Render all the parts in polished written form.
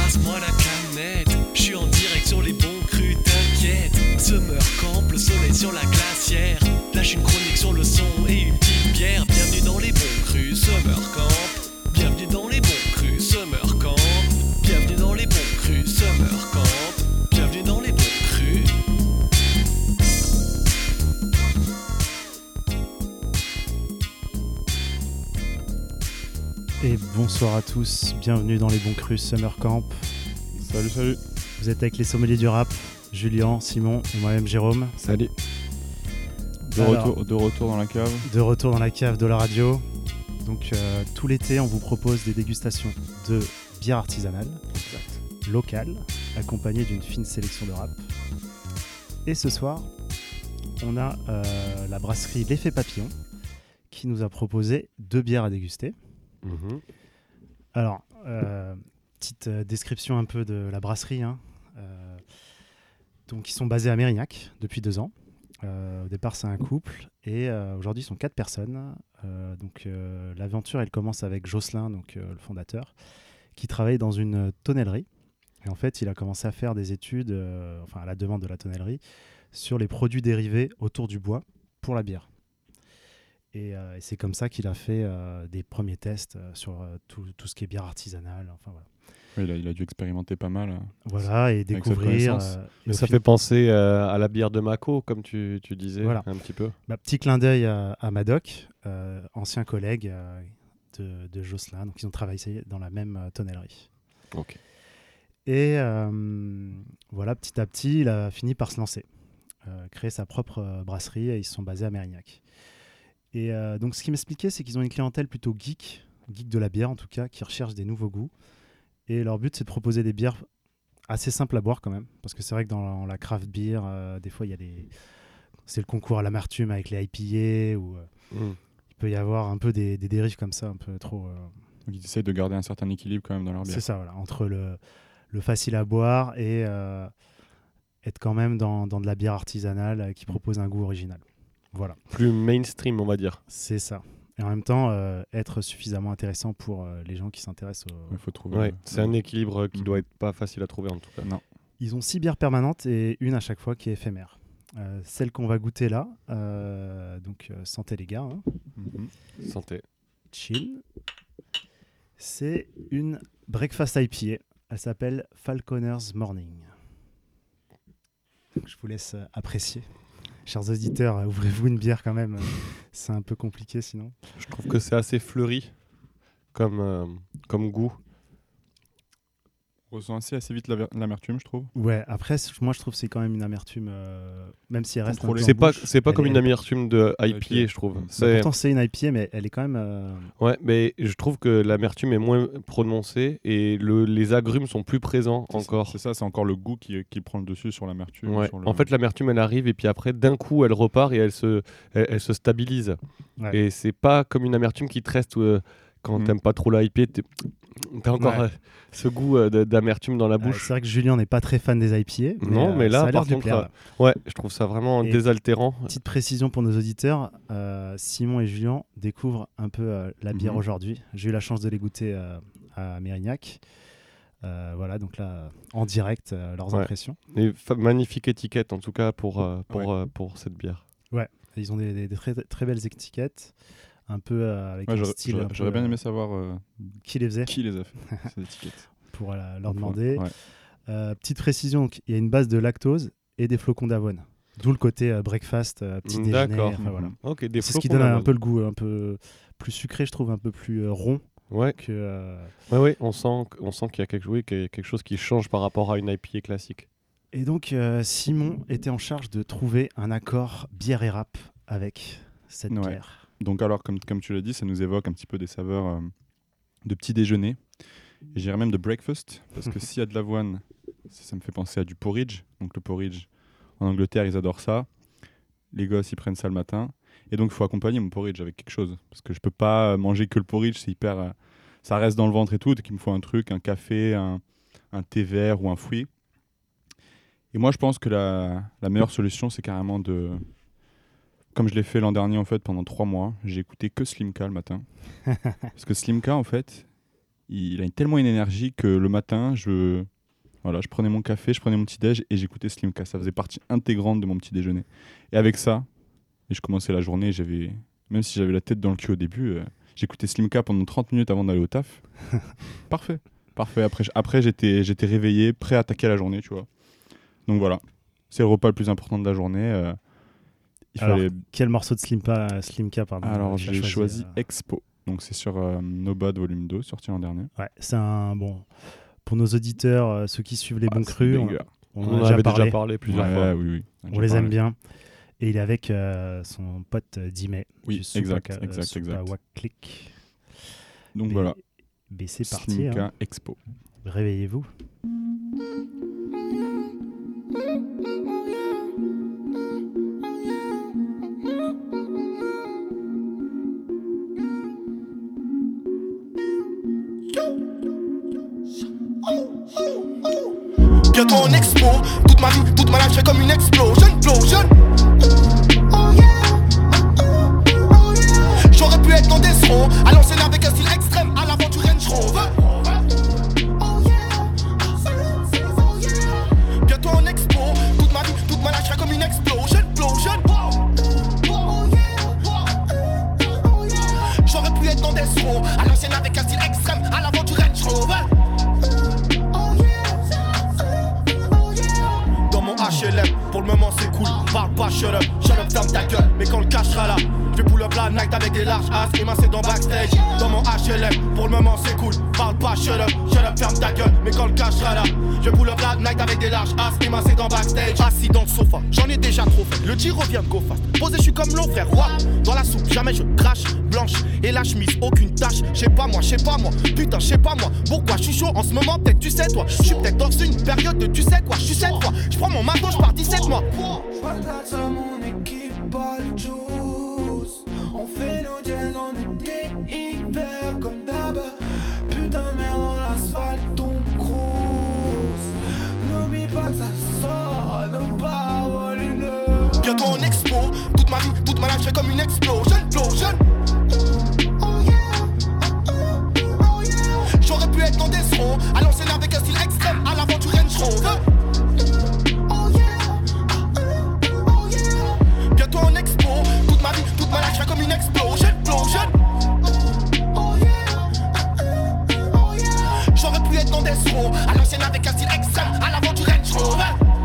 passe-moi la canette. Je suis en direct sur les bons crus, t'inquiète. Summer camp, le soleil sur la glacière. Lâche une chronique sur le son et une petite bière. Bienvenue dans les bons crus, Summer camp. Bienvenue dans les bons crus, Summer camp. Bienvenue dans les bons crus, Summer camp. Bienvenue dans les bons crus. Et bonsoir à tous, bienvenue dans les bons crus Summer Camp. Salut. Vous êtes avec les sommeliers du rap, Julien, Simon et moi-même Jérôme. Salut. De retour dans la cave. De retour dans la cave de la radio. Donc tout l'été, on vous propose des dégustations de bière artisanale, locale, accompagnées d'une fine sélection de rap. Et ce soir, on a la brasserie L'Effet Papillon qui nous a proposé 2 bières à déguster. Mmh. Alors, petite description un peu de la brasserie. Donc, ils sont basés à Mérignac depuis 2 ans. Au départ, c'est un couple et aujourd'hui, ils sont 4 personnes. L'aventure, elle commence avec Jocelyn, le fondateur, qui travaille dans une tonnellerie. Et en fait, il a commencé à faire des études, à la demande de la tonnellerie, sur les produits dérivés autour du bois pour la bière. Et c'est comme ça qu'il a fait des premiers tests sur tout ce qui est bière artisanale. Enfin, voilà. Oui, il a dû expérimenter pas mal. Voilà, et découvrir. Mais ça fait penser à la bière de Mako, comme tu disais, voilà. Un petit peu. Petit clin d'œil à Madoc, ancien collègue de Jocelyn. Donc, ils ont travaillé dans la même tonnellerie. Ok. Et voilà, petit à petit, il a fini par se lancer. Créer sa propre brasserie et ils se sont basés à Mérignac. Et donc, ce qu'il m'expliquait, c'est qu'ils ont une clientèle plutôt geek de la bière en tout cas, qui recherche des nouveaux goûts. Et leur but, c'est de proposer des bières assez simples à boire quand même. Parce que c'est vrai que dans la craft beer, des fois, c'est le concours à l'amertume avec les IPA ou il peut y avoir un peu des dérives comme ça, un peu trop. Donc, ils essayent de garder un certain équilibre quand même dans leur bière. C'est ça, voilà, entre le facile à boire et être quand même dans de la bière artisanale qui propose un goût original. Voilà. Plus mainstream, on va dire. C'est ça. Et en même temps, être suffisamment intéressant pour les gens qui s'intéressent au... Il faut trouver... Ouais, c'est un équilibre qui doit être pas facile à trouver en tout cas. Non. Ils ont 6 bières permanentes et une à chaque fois qui est éphémère. Celle qu'on va goûter là, santé les gars. Santé. Chill. C'est une breakfast IPA. Elle s'appelle Falconer's Morning. Donc, je vous laisse apprécier. Chers auditeurs, ouvrez-vous une bière quand même. C'est un peu compliqué sinon. Je trouve que c'est assez fleuri comme goût. On ressent assez vite l'amertume, je trouve. Ouais, après, moi je trouve que c'est quand même une amertume, même si elle reste un peu c'est en bouche. C'est pas comme une amertume de IPA, je trouve. Pourtant, c'est une IPA, mais elle est quand même... Ouais, mais je trouve que l'amertume est moins prononcée et les agrumes sont plus présents encore. C'est ça, c'est encore le goût qui prend le dessus sur l'amertume. Ouais. En fait, l'amertume, elle arrive et puis après, d'un coup, elle repart et elle se stabilise. Ouais. Et c'est pas comme une amertume qui te reste quand t'aimes pas trop la IPA, t'as encore ce goût d'amertume dans la bouche. C'est vrai que Julien n'est pas très fan des IPA. Non, mais là, par contre, ouais, je trouve ça vraiment désaltérant. Petite précision pour nos auditeurs, Simon et Julien découvrent un peu la bière aujourd'hui. J'ai eu la chance de les goûter à Mérignac. Voilà, donc là, en direct, leurs impressions. Et magnifique étiquette, en tout cas, pour cette bière. Ouais, ils ont des très, très belles étiquettes. Un peu avec un style. J'aurais bien aimé savoir qui les faisait. Qui les a fait, ces étiquettes. Pour leur demander. Petite précision, il y a une base de lactose et des flocons d'avoine. D'où le côté breakfast, petit déjeuner. D'accord. Voilà. Okay, c'est ce qui donne un peu le goût, un peu plus sucré, je trouve, un peu plus rond. Ouais. Ouais, on sent qu'il y a quelque chose qui change par rapport à une IPA classique. Et donc, Simon était en charge de trouver un accord bière et rap avec cette bière. Donc alors, comme tu l'as dit, ça nous évoque un petit peu des saveurs de petit déjeuner. Et j'irais même de breakfast, parce que s'il y a de l'avoine, ça me fait penser à du porridge. Donc le porridge, en Angleterre, ils adorent ça. Les gosses, ils prennent ça le matin. Et donc, il faut accompagner mon porridge avec quelque chose. Parce que je peux pas manger que le porridge, c'est hyper... ça reste dans le ventre et tout. Donc il me faut un truc, un café, un thé vert ou un fruit. Et moi, je pense que la meilleure solution, c'est carrément de... Comme je l'ai fait l'an dernier, en fait, pendant 3 mois, j'ai écouté que Slimka le matin. Parce que Slimka, en fait, il a tellement une énergie que le matin, je prenais mon café, je prenais mon petit-déj et j'écoutais Slimka. Ça faisait partie intégrante de mon petit déjeuner. Et avec ça, je commençais la journée, même si j'avais la tête dans le cul au début, j'écoutais Slimka pendant 30 minutes avant d'aller au taf. Parfait. Après j'étais réveillé, prêt à attaquer la journée, tu vois. Donc c'est le repas le plus important de la journée. Quel morceau de Slimka pardon, Alors j'ai choisi Expo. Donc c'est sur No Bad Volume 2, sorti l'an dernier. Ouais, c'est un bon... Pour nos auditeurs, ceux qui suivent les bons crus, on en avait déjà parlé plusieurs fois. Oui. On les aime bien. Et il est avec son pote Dimay. Oui, exact. Wack Click. Donc voilà. Mais c'est parti. Slimka Expo. Réveillez-vous. Bientôt en expo, toute ma vie, toute ma life, je serai comme une explosion. J'aurais pu être dans des sons, à l'ancienne avec un style extrême, à l'aventure Range Rover. Bientôt en expo, toute ma vie, toute ma life, je serai comme une explosion. J'aurais pu être dans des sons, à l'ancienne avec un style extrême, à l'aventure Range Rover. HLM, pour le moment c'est cool, parle pas, shut up, ferme ta gueule. Mais quand le cash sera là, je vais pull up la night avec des larges as, émincés dans backstage. Dans mon HLM, pour le moment c'est cool, parle pas, shut up, ferme ta gueule. Mais quand le cash sera là, je vais pull up la night avec des larges as, émincés dans backstage. Assis dans le sofa, j'en ai déjà trop fait, le tir revient de go fast. Posé, je suis comme l'eau frère, roi, dans la soupe, jamais je crache. Blanche et la chemise, aucune tache. Je sais pas moi, putain, je sais pas moi. Pourquoi je suis chaud en ce moment, peut-être tu sais toi. Je suis peut-être dans une période de tu sais quoi. Je suis cette fois, je prends mon maton, je pars 17 mois. J'patate à mon équipe, pas le juice. On fait nos jazz, on était hyper comme d'hab. Putain de merde dans l'asphalte, ton cruise. N'oublie pas que ça sort, ne pas voler le. Bientôt en expo, toute ma vie, toute ma life, je serai comme une explosion. J'aurais pu être dans des sons, à l'ancienne avec un style extrême, à l'aventure Range Rover. Bientôt en expo, toute ma vie, toute ma life, je serai comme une explosion. J'aurais pu être dans des sons, à l'ancienne avec un style extrême, à l'aventure Range Rover.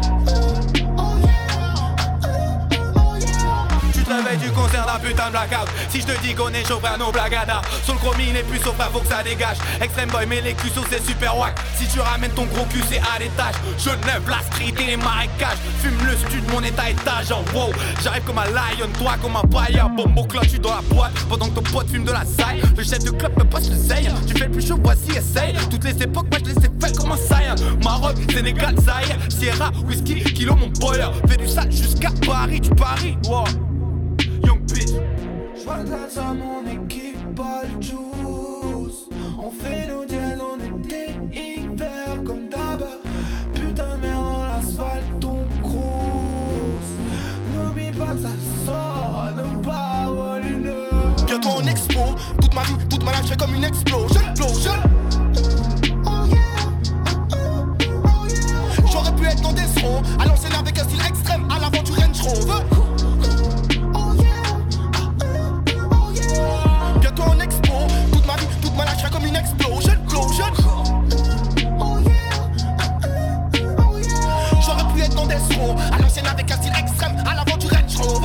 Tu concernes un putain de blackout. Si je te dis qu'on est chaud frère, nos blagada. Sur le chromie n'est plus sauf frère, faut que ça dégage. Extreme boy mais les cussos c'est super wack. Si tu ramènes ton gros cul c'est à l'étage. Je lève la street et les marécages. Fume le stud, mon état étage en wow. J'arrive comme un lion, toi comme un païen. Bombo cloche, je suis dans la boîte pendant que ton pote fume de la saille. Le chef de club me passe le seille. Tu fais le plus chaud, voici essaye. Toutes les époques, moi je les ai fait comme un saïen. Maroc, Sénégal, Zaïre, Sierra, whisky, kilo mon boiler. Fais du sale jusqu'à Paris, tu paries, wow. Young bitch. J'patate à mon équipe, pas le juice. On fait nos jazz, on était hyper comme d'hab. Putain de merde dans l'asphalte, ton cruise. N'oublie pas que ça sort, ne pas voler le. Bientôt en expo, toute ma vie, toute ma life, je serai comme une explosion. J'aurais pu être dans des sons, à l'ancienne avec un style extrême, à l'aventure Range Rover. Bientôt en expo, toute ma vie, toute ma life, je serai comme une explosion. J'aurais pu être dans des sons, à l'ancienne avec un style extrême, à l'aventure Range Rover.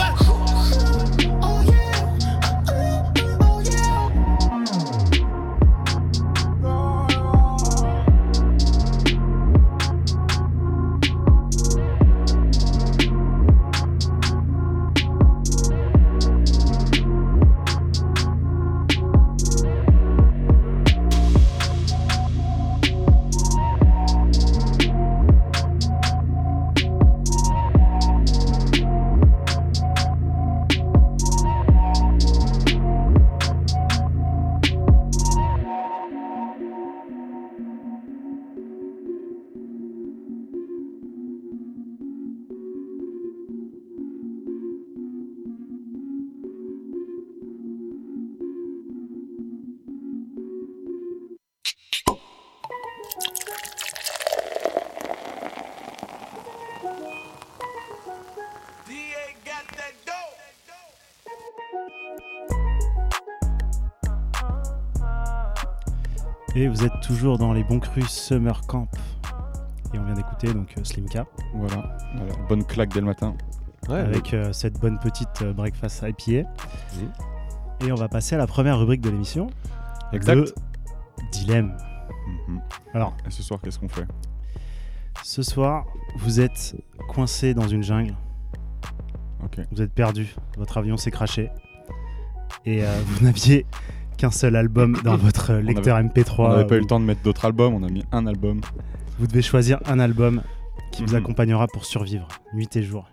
Et vous êtes toujours dans les bons crus Summer Camp. Et on vient d'écouter donc Slimka. Voilà, bonne claque dès le matin. Ouais, avec cette bonne petite breakfast IPA. Et on va passer à la première rubrique de l'émission. Exact. Le dilemme. Alors, et ce soir, qu'est-ce qu'on fait ? Ce soir, vous êtes coincé dans une jungle. Ok. Vous êtes perdu. Votre avion s'est crashé. Et vous n'aviez qu'un seul album dans votre lecteur MP3. On n'avait pas eu le temps de mettre d'autres albums. On a mis un album. Vous devez choisir un album qui vous accompagnera pour survivre, nuit et jour.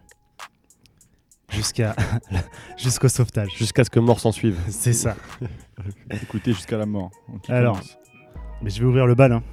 Jusqu'au sauvetage. Jusqu'à ce que mort s'en suive. C'est ça. Écoutez jusqu'à la mort. Alors, mais je vais ouvrir le bal. Hein.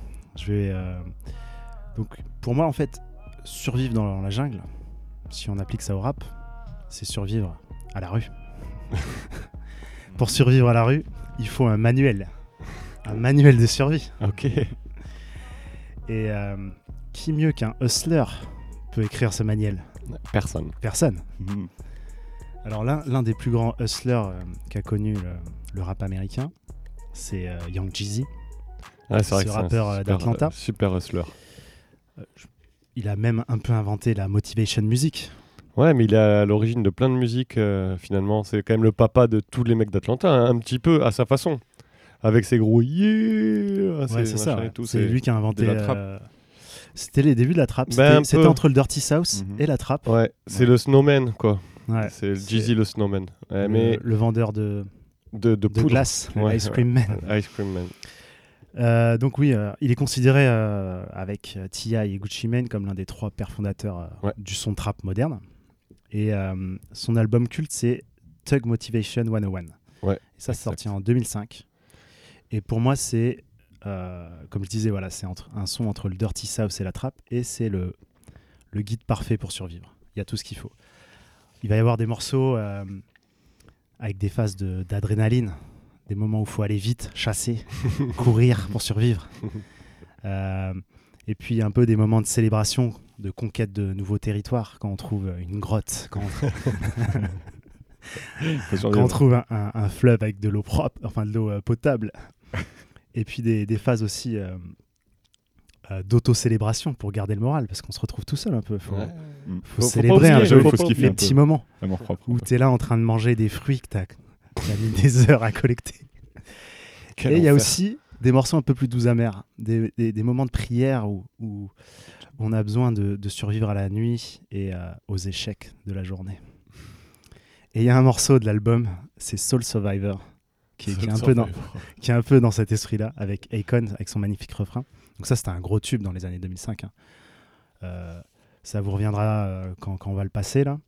Donc, pour moi, en fait, survivre dans la jungle, si on applique ça au rap, c'est survivre à la rue. Pour survivre à la rue, il faut un manuel. Un manuel de survie. Ok. Et qui mieux qu'un hustler peut écrire ce manuel ? Personne. Alors l'un des plus grands hustlers qu'a connu le rap américain, c'est Young Jeezy. Ah, c'est vrai ce rappeur d'Atlanta. Super hustler. Il a même un peu inventé la motivation music. Ouais, mais il est à l'origine de plein de musiques, finalement. C'est quand même le papa de tous les mecs d'Atlanta, hein, un petit peu à sa façon. Avec ses gros yeah, ouais, c'est ça. Et tout, c'est lui qui a inventé la trappe. C'était les débuts de la trappe. C'était entre le Dirty South et la trappe. Ouais, c'est le snowman, quoi. Ouais, c'est Jeezy le snowman. Ouais, le vendeur de glace, ouais, Ice Cream Man. Ice Cream Man. Donc oui, il est considéré avec T.I. et Gucci Mane comme l'un des 3 pères fondateurs du son trap moderne. Et son album culte, c'est Thug Motivation 101. Ouais, c'est sorti en 2005. Et pour moi, c'est, comme je disais, voilà, c'est un son entre le Dirty South et la trappe. Et c'est le guide parfait pour survivre. Il y a tout ce qu'il faut. Il va y avoir des morceaux avec des phases d'adrénaline, des moments où il faut aller vite, chasser, courir pour survivre. Et puis un peu des moments de célébration, de conquête de nouveaux territoires, quand on trouve une grotte, quand on trouve un fleuve avec de l'eau propre, enfin de l'eau potable. Et puis des phases aussi d'auto-célébration pour garder le moral, parce qu'on se retrouve tout seul un peu. Faut célébrer un peu les petits moments où tu es là en train de manger des fruits que tu as mis des heures à collecter. Et il y a aussi des morceaux un peu plus doux amers, des moments de prière où on a besoin de survivre à la nuit et aux échecs de la journée. Et il y a un morceau de l'album, c'est Soul Survivor, qui est un peu dans cet esprit-là, avec Akon, avec son magnifique refrain. Donc ça, c'était un gros tube dans les années 2005. Ça vous reviendra quand on va le passer, là.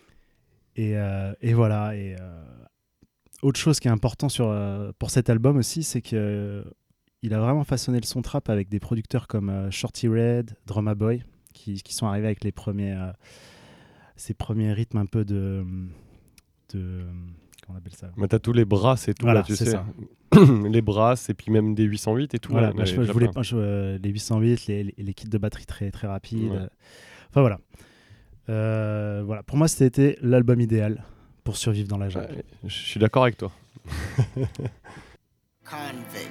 Et voilà. Et autre chose qui est important pour cet album aussi, c'est qu'il a vraiment façonné le son trap avec des producteurs comme Shorty Red, Drumma Boy, qui sont arrivés avec ces premiers rythmes un peu de comment on appelle ça ? Mais t'as tous les brasses et tout, voilà, là, tu sais. Ça. Les brasses et puis même des 808 et tout. Voilà, là, je voulais pas les 808, les kits de batterie très, très rapides. Ouais. Enfin voilà. Voilà. Pour moi, c'était l'album idéal pour survivre dans la jungle. Ouais, je suis d'accord avec toi. Convict.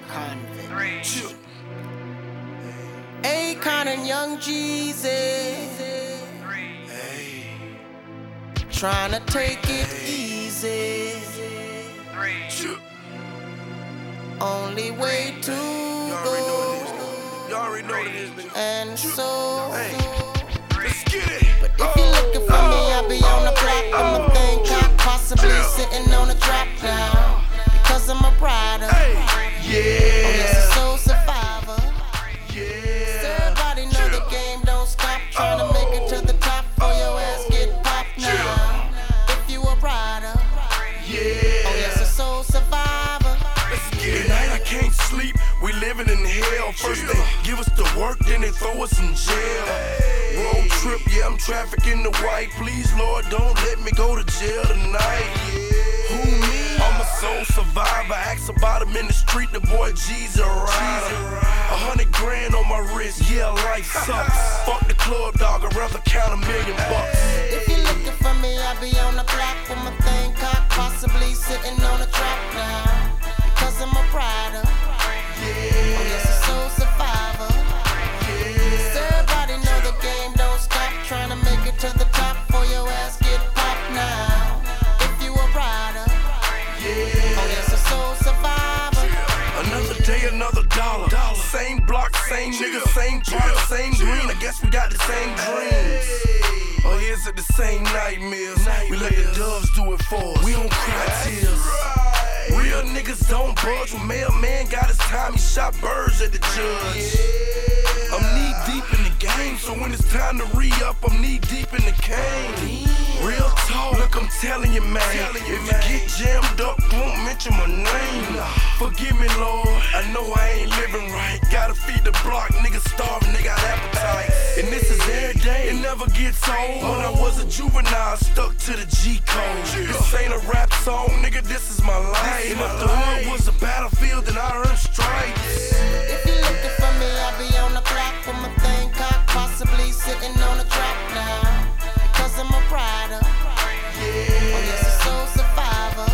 Akon and Young Jeezy. Trying to take it easy. Only way to go. And so. But if you're looking for me, I'll be on the block with my thing cocked, possibly sitting on a drop now. Because I'm a rider. Oh, yes, a soul survivor. So everybody know the game don't stop. Trying to make it to the top for your ass get popped now. If you a rider. Oh, yes, a soul survivor. Tonight I can't sleep, we living in hell. First they give us the work, then they throw us in jail. Road trip, yeah, I'm trafficking the white. Please, Lord, don't let me go to jail tonight. Who me? I'm a soul survivor. Ask about him in the street, the boy G's a rider. 100 grand on my wrist, yeah, life sucks. Fuck the club, dog, I'd rather count $1 million. If you're looking for me, I'll be on the block with my thing cocked, possibly sitting on a drop now. Because I'm a rider. Oh, yes, day another dollar. Same block, same nigga, same product, same green. I guess we got the same dreams. Or is it the same nightmares? We let the doves do it for us. We don't cry tears. Real niggas don't budge. When mailman got his time, he shot birds at the judge. I'm knee deep in the game, so when it's time to re-up, I'm knee deep in the cane. Real talk, look, I'm telling you, man. If you get jammed up, don't mention my name. Forgive me, Lord. I know I ain't living right. Gotta feed the block, niggas starving, they got appetite. And this is every day, it never gets old. When I was a juvenile, stuck to the G code. This ain't a rap song, nigga, this is my life. And if the hood was a battlefield, then I earned stripes. If you're looking for me, I'll be on the block with my thing cocked, possibly sitting on a trap now. Because I'm a rider. Oh yes, a soul survivor.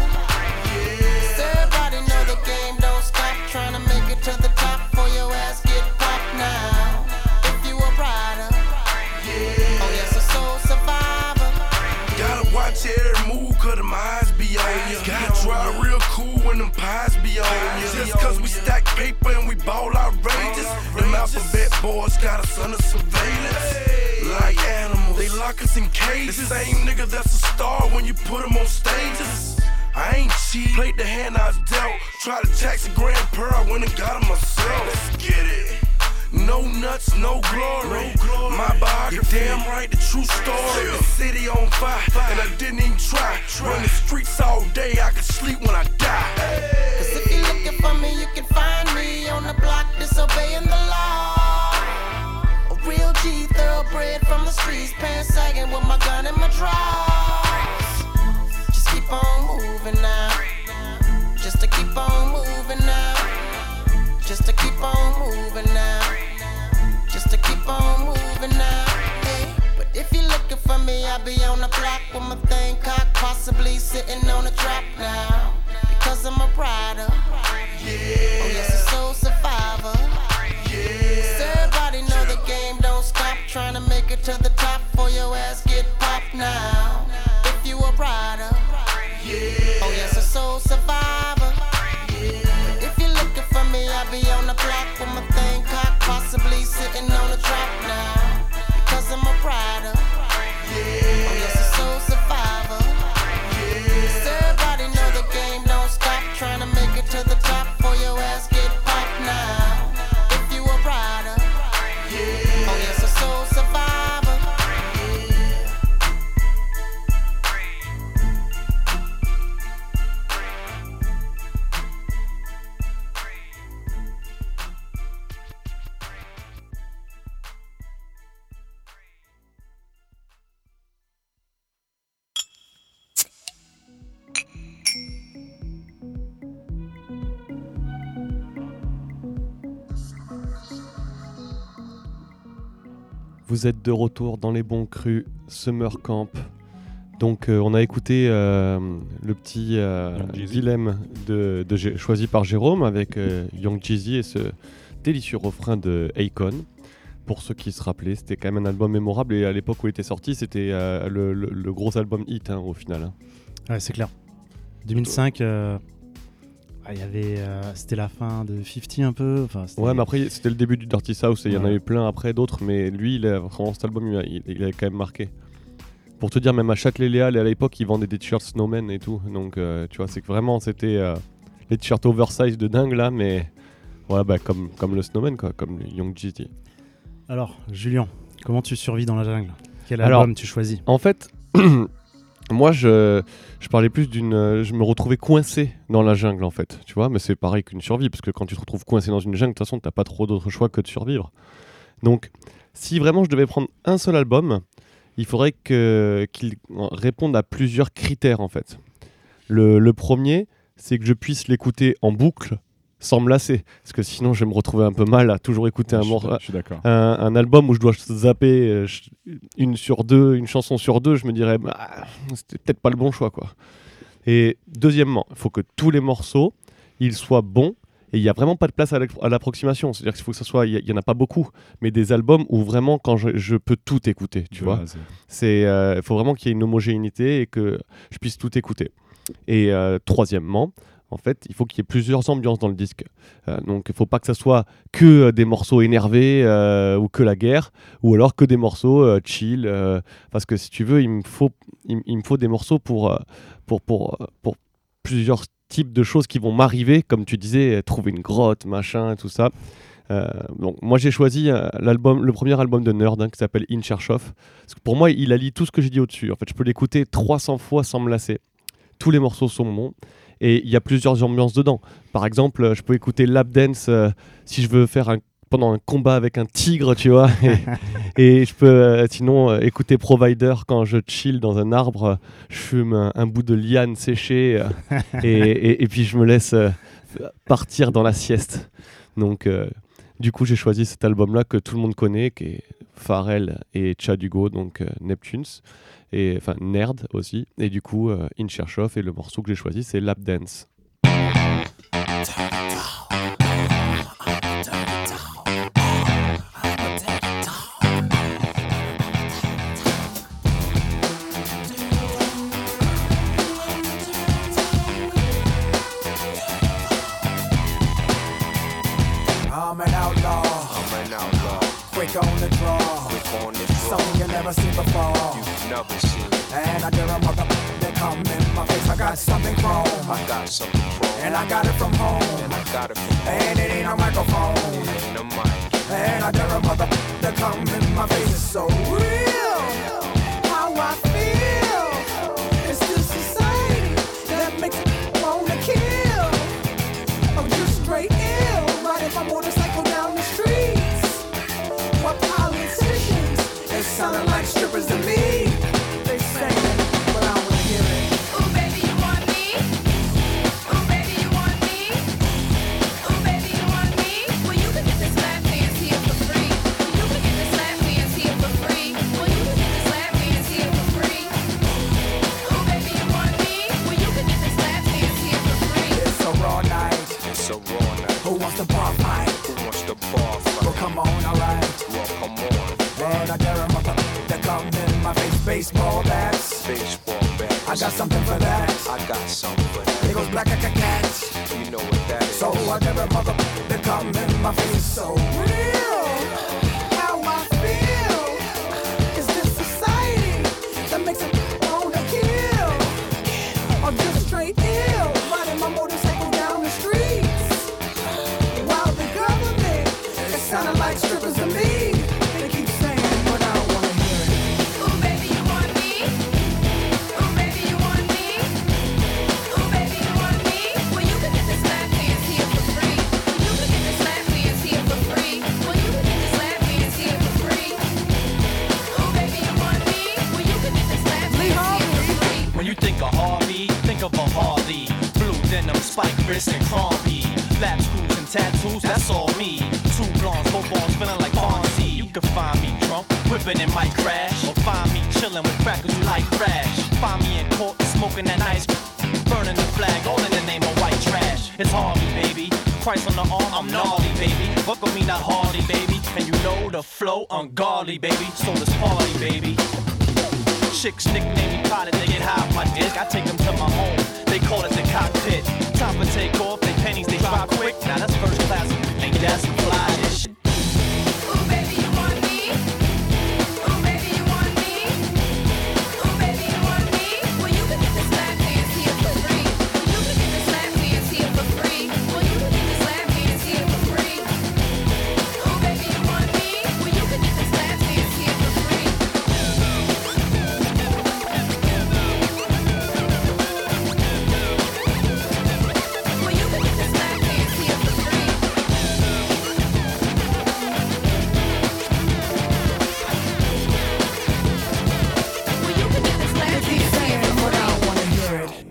So everybody know the game don't stop. Trying to make it to the top for your ass get popped now. If you a rider. Oh yes, a soul survivor. Gotta watch every move, cause them eyes be on ya. Gotta drive real cool when them pies be on ya. Just cause we stack paper and we ball outrageous. Them alphabet boys got us under surveillance. Like animals, they lock us in cages. The same nigga that's a star when you put him on stages. I ain't cheat, played the hand I was dealt. Tried to tax a grand per, I went and got him myself. Let's get it. No nuts, no glory. My biography, damn right, the true story. The city on fire, and I didn't even try. Run the streets all day, I could sleep when I die. Cause if you're looking for me, you can find me on the block disobeying the law. A real G, thoroughbred from the streets, pants sagging with my gun in my drawers. Just keep on moving now. Just to keep on moving now. Just to keep on moving now. Just to keep on moving now. Hey. But if you're looking for me, I'll be on the block with my thing cocked, possibly sitting on a trap now. Because I'm a rider. Oh yes, a soul survivor. So everybody know the game don't stop. Trying to make it to the top for your ass get popped now. If you a rider. Oh yes, a soul survivor. If you're looking for me, I'll be on the block with my thing cocked, possibly sitting on a trap now. Because I'm a rider. Oh yes, a soul survivor. So everybody know the game don't stop. Trying to make it to the top for your ass get popped now. If you a rider. Oh yes, a soul survivor. Vous êtes de retour dans les bons crus Summer Camp. Donc on a écouté le petit dilemme choisi par Jérôme avec Young Jeezy et ce délicieux refrain de Akon. Pour ceux qui se rappelaient, c'était quand même un album mémorable et à l'époque où il était sorti, c'était le gros album hit au final. Hein. Ouais, c'est clair. 2005, c'était la fin de 50 un peu. Ouais, mais après c'était le début du Dirty South et il y en a eu plein après d'autres, mais lui, vraiment cet album, il a quand même marqué. Pour te dire, même à Châtelet-Léal et à l'époque, ils vendaient des t-shirts Snowman et tout. Donc, tu vois, c'est que vraiment, c'était les t-shirts oversize de dingue là, mais ouais, bah, comme le Snowman, quoi, comme le Young Jeezy. Alors, Julien, comment tu survis dans la jungle ? Quel album tu choisis ? En fait, moi, je parlais plus je me retrouvais coincé dans la jungle, en fait. Tu vois, mais c'est pareil qu'une survie, parce que quand tu te retrouves coincé dans une jungle, de toute façon, t'as pas trop d'autre choix que de survivre. Donc, si vraiment je devais prendre un seul album, il faudrait qu'il réponde à plusieurs critères, en fait. Le premier, c'est que je puisse l'écouter en boucle sans me lasser, parce que sinon je vais me retrouver un peu mal à toujours écouter un album où je dois zapper une chanson sur deux, je me dirais c'était peut-être pas le bon choix, quoi. Et deuxièmement, il faut que tous les morceaux ils soient bons. Et il n'y a vraiment pas de place à l'approximation. C'est-à-dire qu'il faut que ça soit, il n'y en a pas beaucoup, mais des albums où vraiment, quand je peux tout écouter, tu vois. Il faut vraiment qu'il y ait une homogénéité et que je puisse tout écouter. Et troisièmement, En fait, il faut qu'il y ait plusieurs ambiances dans le disque. Donc, il ne faut pas que ça soit que des morceaux énervés ou que la guerre, ou alors que des morceaux chill. Parce que si tu veux, il me faut des morceaux pour plusieurs types de choses qui vont m'arriver, comme tu disais, trouver une grotte, machin, tout ça. Donc, moi, j'ai choisi le premier album de Nerd qui s'appelle In Search Of. Parce que pour moi, il allie tout ce que j'ai dit au-dessus. En fait, je peux l'écouter 300 fois sans me lasser. Tous les morceaux sont bons. Et il y a plusieurs ambiances dedans. Par exemple, je peux écouter Lap Dance si je veux faire pendant un combat avec un tigre, tu vois. Et je peux sinon écouter Provider quand je chill dans un arbre, je fume un bout de liane séchée et puis je me laisse partir dans la sieste. Donc, du coup, j'ai choisi cet album-là que tout le monde connaît, qui est Pharrell et Tchad Hugo, donc Neptunes. Et enfin Nerd aussi, et du coup In Search Of, et le morceau que j'ai choisi c'est Lap Dance. I'm an outlaw, quick on the draw, something you never seen before. And I dare a mother that come in my face. I got something chrome, and I got it from home, and it ain't a microphone. And I dare a mother that come in my face. It's so real, how I feel. It's this society that makes me wanna kill. I'm just straight ill, riding my motorcycle down the streets. What politicians, it sounded like strippers to me. They say it, but I wanna hear it. Ooh, baby, you want me? Ooh, baby, you want me? Ooh, baby, you want me? Well, you can get this lap dance here for free. You can get this lap dance here for free. Well, you can get this lap dance here for free. Ooh, baby, you want me? Well, you can get this lap dance here for free. It's a raw night. Who wants the bar fight? Well, come on, alright. And I dare a mother that come in my face. Baseball bats. I got something for that. It goes black like a cat. So I dare a mother that come in my face. So real, how I feel. Is this society that makes it wanna kill? I'm just straight ill, riding my motorcycle down the streets. While the government, it sounded like strippers to me. They keep saying, but I don't wanna hear it. Ooh, baby, you want me? Ooh, baby, you want me? Ooh, baby, you want me? Well, you can get this lap dance here for free. You can get this lap dance here for free. Well, you can get this lap dance here for free. Ooh, baby, you want me? Well, you can get this lap dance here for free. When you think of Harvey, think of a Harley. Blue denim, spike wrists, and crumpy. Lap screws and tattoos, that's all me. Two blondes, footballs, feeling like Fonzie. You can find me drunk, whipping and might crash. Or find me chilling with crackers who like crash. Find me in court, smoking that nice, burning the flag, all in the name of white trash. It's Harvey, baby. Christ on the arm, I'm gnarly, baby. Fuck with me, not Harley, baby. And you know the flow, ungodly, baby. So let's party, baby. Chicks nickname me Pilot, they get high off my dick. I take them to my home, they call it the cockpit. Time for take off, they pennies, they drop quick. Now that's first class, ain't that some fly shit? Ooh, baby, you want me? Ooh, baby, you want me? Ooh, baby, you want me? Well, you can get this lap dance here for free. You can get this lap dance here for free. Well, you can get this lap dance here for free. Ooh, baby, you want me? Well, you can get this lap dance here for free. Well, you can get this lap dance here for free. Well, you can get this lap They keep dance saying here it, for but I free. don't wanna hear it.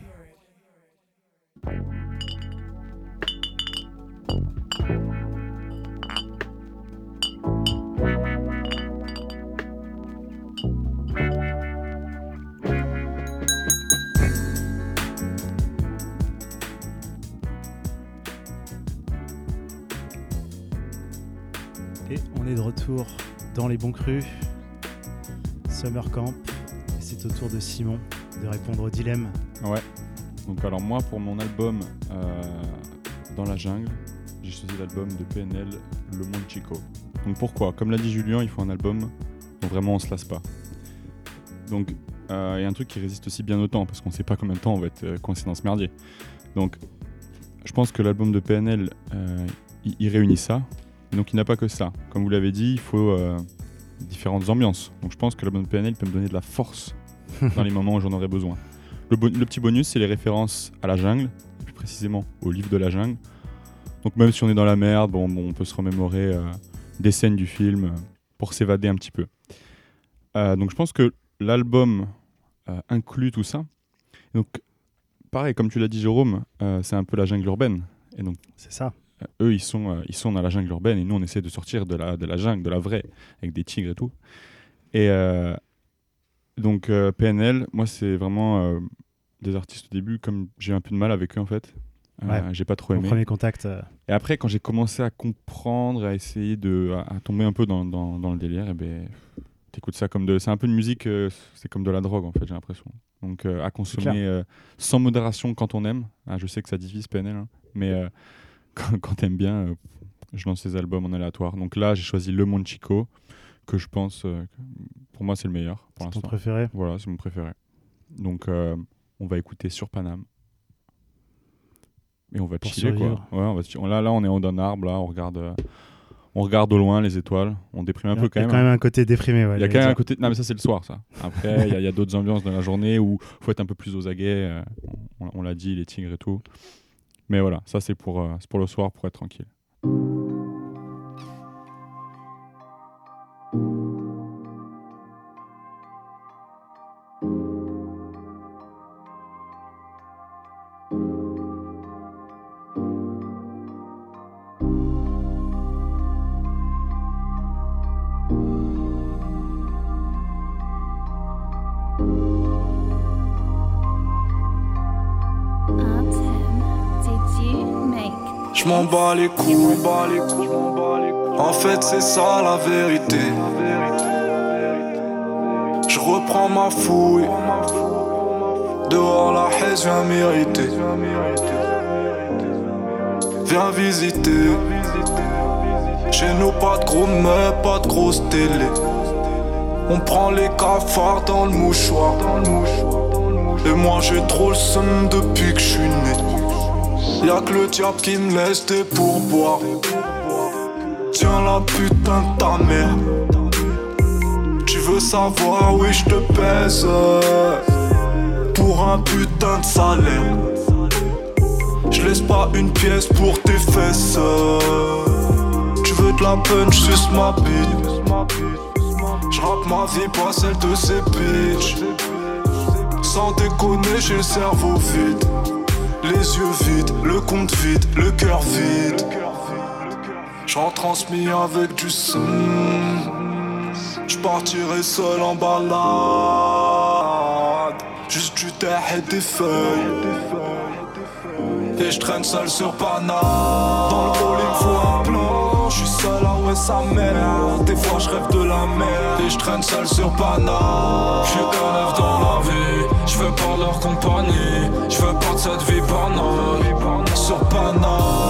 Et on est de retour dans les bons crus, Summer Camp, et c'est au tour de Simon de répondre au dilemme. Ouais. Donc alors moi, pour mon album Dans la jungle, j'ai choisi l'album de PNL, Le Monde Chico. Donc pourquoi ? Comme l'a dit Julien, il faut un album dont vraiment on se lasse pas. Donc il y a un truc qui résiste aussi bien au temps, parce qu'on ne sait pas combien de temps on va être coincé dans ce merdier. Donc je pense que l'album de PNL, il réunit ça. Donc il n'a pas que ça. Comme vous l'avez dit, il faut différentes ambiances. Donc je pense que l'album de PNL peut me donner de la force dans les moments où j'en aurais besoin. Le petit bonus, c'est les références à la jungle, plus précisément au livre de la jungle. Donc même si on est dans la merde, on peut se remémorer des scènes du film pour s'évader un petit peu. Donc je pense que l'album inclut tout ça. Donc pareil, comme tu l'as dit Jérôme, c'est un peu la jungle urbaine. Et donc c'est ça. Eux, ils sont dans la jungle urbaine et nous, on essaie de sortir de la jungle, de la vraie, avec des tigres et tout. Et donc PNL, moi, c'est vraiment des artistes au début, comme j'ai un peu de mal avec eux en fait. J'ai pas trop aimé. Mon premier contact. Et après, quand j'ai commencé à comprendre, à essayer à tomber un peu dans le délire, et ben t'écoutes ça comme c'est un peu une musique, c'est comme de la drogue en fait, j'ai l'impression. Donc à consommer sans modération quand on aime. Je sais que ça divise PNL, hein, mais quand t'aimes bien, je lance ces albums en aléatoire. Donc là, j'ai choisi Le Monde Chico, que je pense, pour moi, c'est le meilleur. Pour c'est ton préféré ? Voilà, c'est mon préféré. Donc on va écouter Sur Paname. Et on va chiller, quoi. Ouais, là, on est en haut d'un arbre, là, on regarde au loin les étoiles, on déprime un peu quand même. Il y a quand même un côté déprimé. Il y a quand même un côté... Non, mais ça, c'est le soir, ça. Après, il y a d'autres ambiances dans la journée où il faut être un peu plus aux aguets. On l'a dit, les tigres et tout. Mais voilà, ça, c'est pour le soir, pour être tranquille. Je m'en bats les couilles. En fait, c'est ça la vérité. Je reprends ma fouille. Dehors, la haise vient m'irriter. Viens visiter. Chez nous, pas de gros meubles, pas de grosse télé. On prend les cafards dans le mouchoir. Et moi, j'ai trop le seum depuis que je suis né. Y'a que le diable qui me laisse des pourboires. Tiens la putain de ta mère. Tu veux savoir, oui je te pèse pour un putain de salaire. Je laisse pas une pièce pour tes fesses. Tu veux de la punch, suce ma bite. J'rappe ma vie, pas celle de ces bitches. Sans déconner, j'ai le cerveau vide. Les yeux vides, le compte vide, le cœur vide. J'en transmis avec du son. J'partirai seul en balade. Juste du terre et des feuilles. Et j'traîne seul sur Paname. Dans le hall il me faut un plan. J'suis seul à ouais sa mère. Des fois j'rêve de la mer. Et j'traîne seul sur Paname. J'suis un œuf dans la vie. J'veux pas leur compagnie. J'veux pas de cette vie banale. Sur Paname.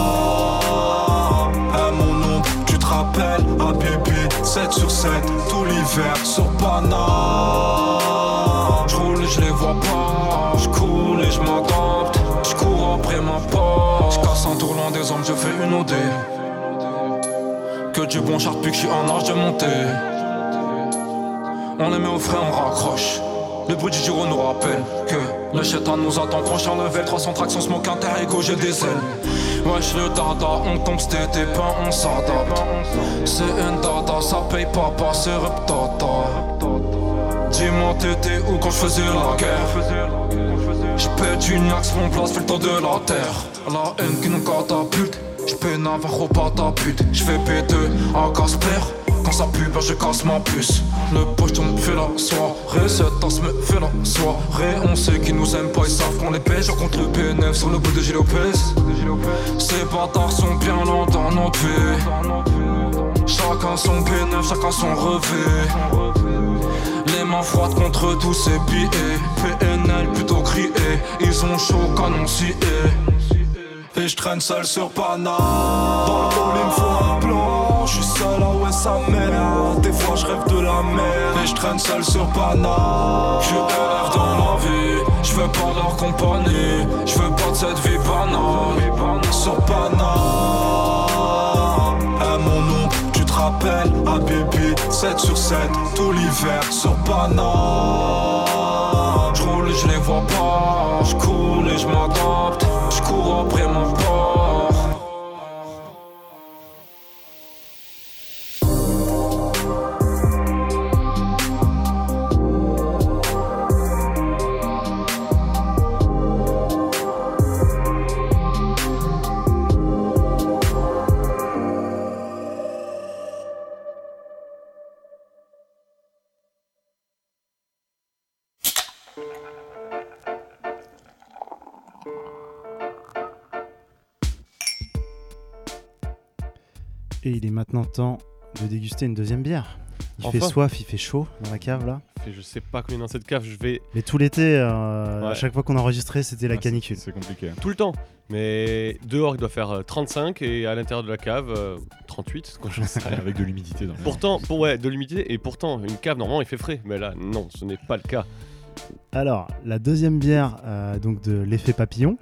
Mon nom, tu te rappelles. À Bibi, 7 sur 7. Tout l'hiver sur Paname. J'roule et j'les vois pas. J'coule et j'm'adapte. J'cours après ma part. J'casse un tour loin des hommes, je fais une OD. Que du bon char depuis que j'suis en âge de monter. On les met au frais, on raccroche. Le bruit du gyro nous rappelle que le chétan nous attend proche en level. 300 tractions, smoke inter-ego, j'ai des ailes. Wesh le dada, on tombe c'tété pas, on s'adapte. C'est un dada, ça paye pas, c'est rep dada. Dis-moi t'étais où quand j'faisais la guerre. J'pète une axe, mon place fait le tour de la terre. La haine qui nous catapulte. J'peine un verre au patapute. J'fais P2 à Casper. Quand ça pue, je casse ma puce. Le pocheton me fait la soirée. Cette tasse me fait la soirée. On sait qu'ils nous aiment pas, ils savent qu'on les pêche. Je contre le PNF sur le bout de Gilles Lopez. Ces bâtards sont bien lents dans notre vie. Chaque chacun son P9, chacun son revêt. Les mains froides contre tous ces billets. PNL plutôt crié, ils ont chaud canon scié. Et je traîne seul sur Pana. Dans le hall il me faut un plan. Je suis seul à ouais sa mère. Des fois je rêve de la mer. Et je traîne seul sur Pana. Je rêve dans ma vie. Je veux pas leur compagnie. Je veux pas de cette vie banale. Sur Pana. Mon nom, tu te rappelles, Habibi, 7 sur 7, tout l'hiver sur Pana. Je roule et je les vois pas, je coule et je m'adapte, je cours après mon port. Et il est maintenant temps de déguster une deuxième bière. Il Enfin. fait soif, il fait chaud dans la cave là. Et je sais pas combien dans cette cave, je vais Mais tout l'été, Ouais. à chaque fois qu'on enregistrait, c'était la Ah, canicule. C'est compliqué. tout le temps. Mais dehors, il doit faire 35 et à l'intérieur de la cave, 38. Quoi, je sais. Avec de l'humidité dans le Pourtant, de l'humidité, et pourtant, une cave, normalement, il fait frais. Mais là, non, ce n'est pas le cas. Alors, la deuxième bière donc de l'effet papillon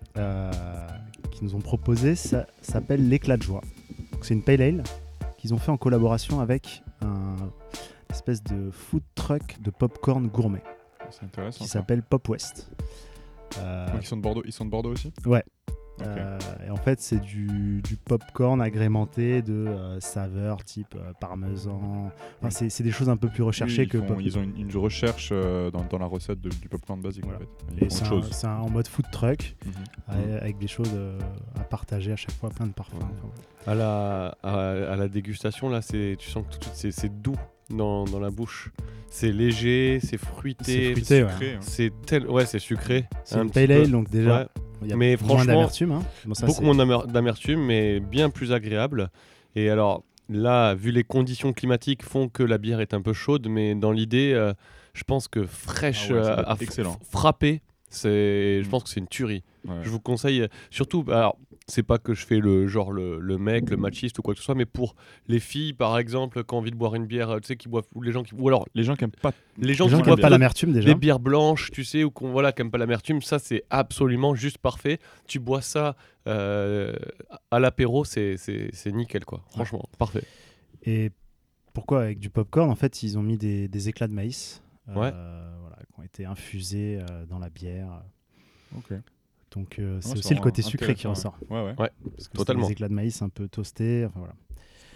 qu'ils nous ont proposé, ça s'appelle l'éclat de joie. Donc, c'est une pale ale qu'ils ont fait en collaboration avec un espèce de food truck de popcorn gourmet C'est intéressant. qui ça. s'appelle Pop West. Donc ils sont de Bordeaux aussi. Ouais. Ok. Et en fait, c'est du popcorn agrémenté de saveurs type parmesan. Enfin, c'est des choses un peu plus recherchées Oui, que ils ont une recherche dans la recette du popcorn basique Voilà. en fait. Ils Et font c'est autre chose. c'est en mode food truck Mhm. avec des choses à partager à chaque fois, plein de parfums. Ouais. Enfin, À la dégustation, là, tu sens que tout de suite, c'est doux dans la bouche. C'est léger, c'est fruité. C'est fruité, ouais. Sucré, hein. C'est sucré. C'est un une petit pale peu. ale, donc déjà, Ouais. il y a Mais moins franchement, d'amertume. Hein. Bon, ça, Beaucoup c'est- moins d'amertume, mais bien plus agréable. Et alors, là, vu les conditions climatiques font que la bière est un peu chaude, mais dans l'idée, je pense que fraîche Ah ouais, ça doit être à excellent. frapper, je pense que c'est une tuerie. Ouais. Je vous conseille, surtout, alors, c'est pas que je fais le mec, le machiste ou quoi que ce soit, mais pour les filles, par exemple, qui ont envie de boire une bière, tu sais, qui boivent, ou les gens qui, ou alors Les gens qui aiment pas. les gens Les gens qui qui n'aiment boivent pas l'amertume déjà. des bières blanches, tu sais, ou qui aiment pas l'amertume, ça c'est absolument juste parfait. Tu bois ça à l'apéro, c'est nickel quoi. Franchement, parfait. Et pourquoi avec du popcorn? En fait, ils ont mis des éclats de maïs Ouais. voilà, qui ont été infusés dans la bière. Ok. Donc c'est c'est aussi le côté vraiment sucré qui intéressant, ressort. Ouais, ouais. Ouais, Parce que totalement. c'est des éclats de maïs un peu toastés. Enfin, voilà.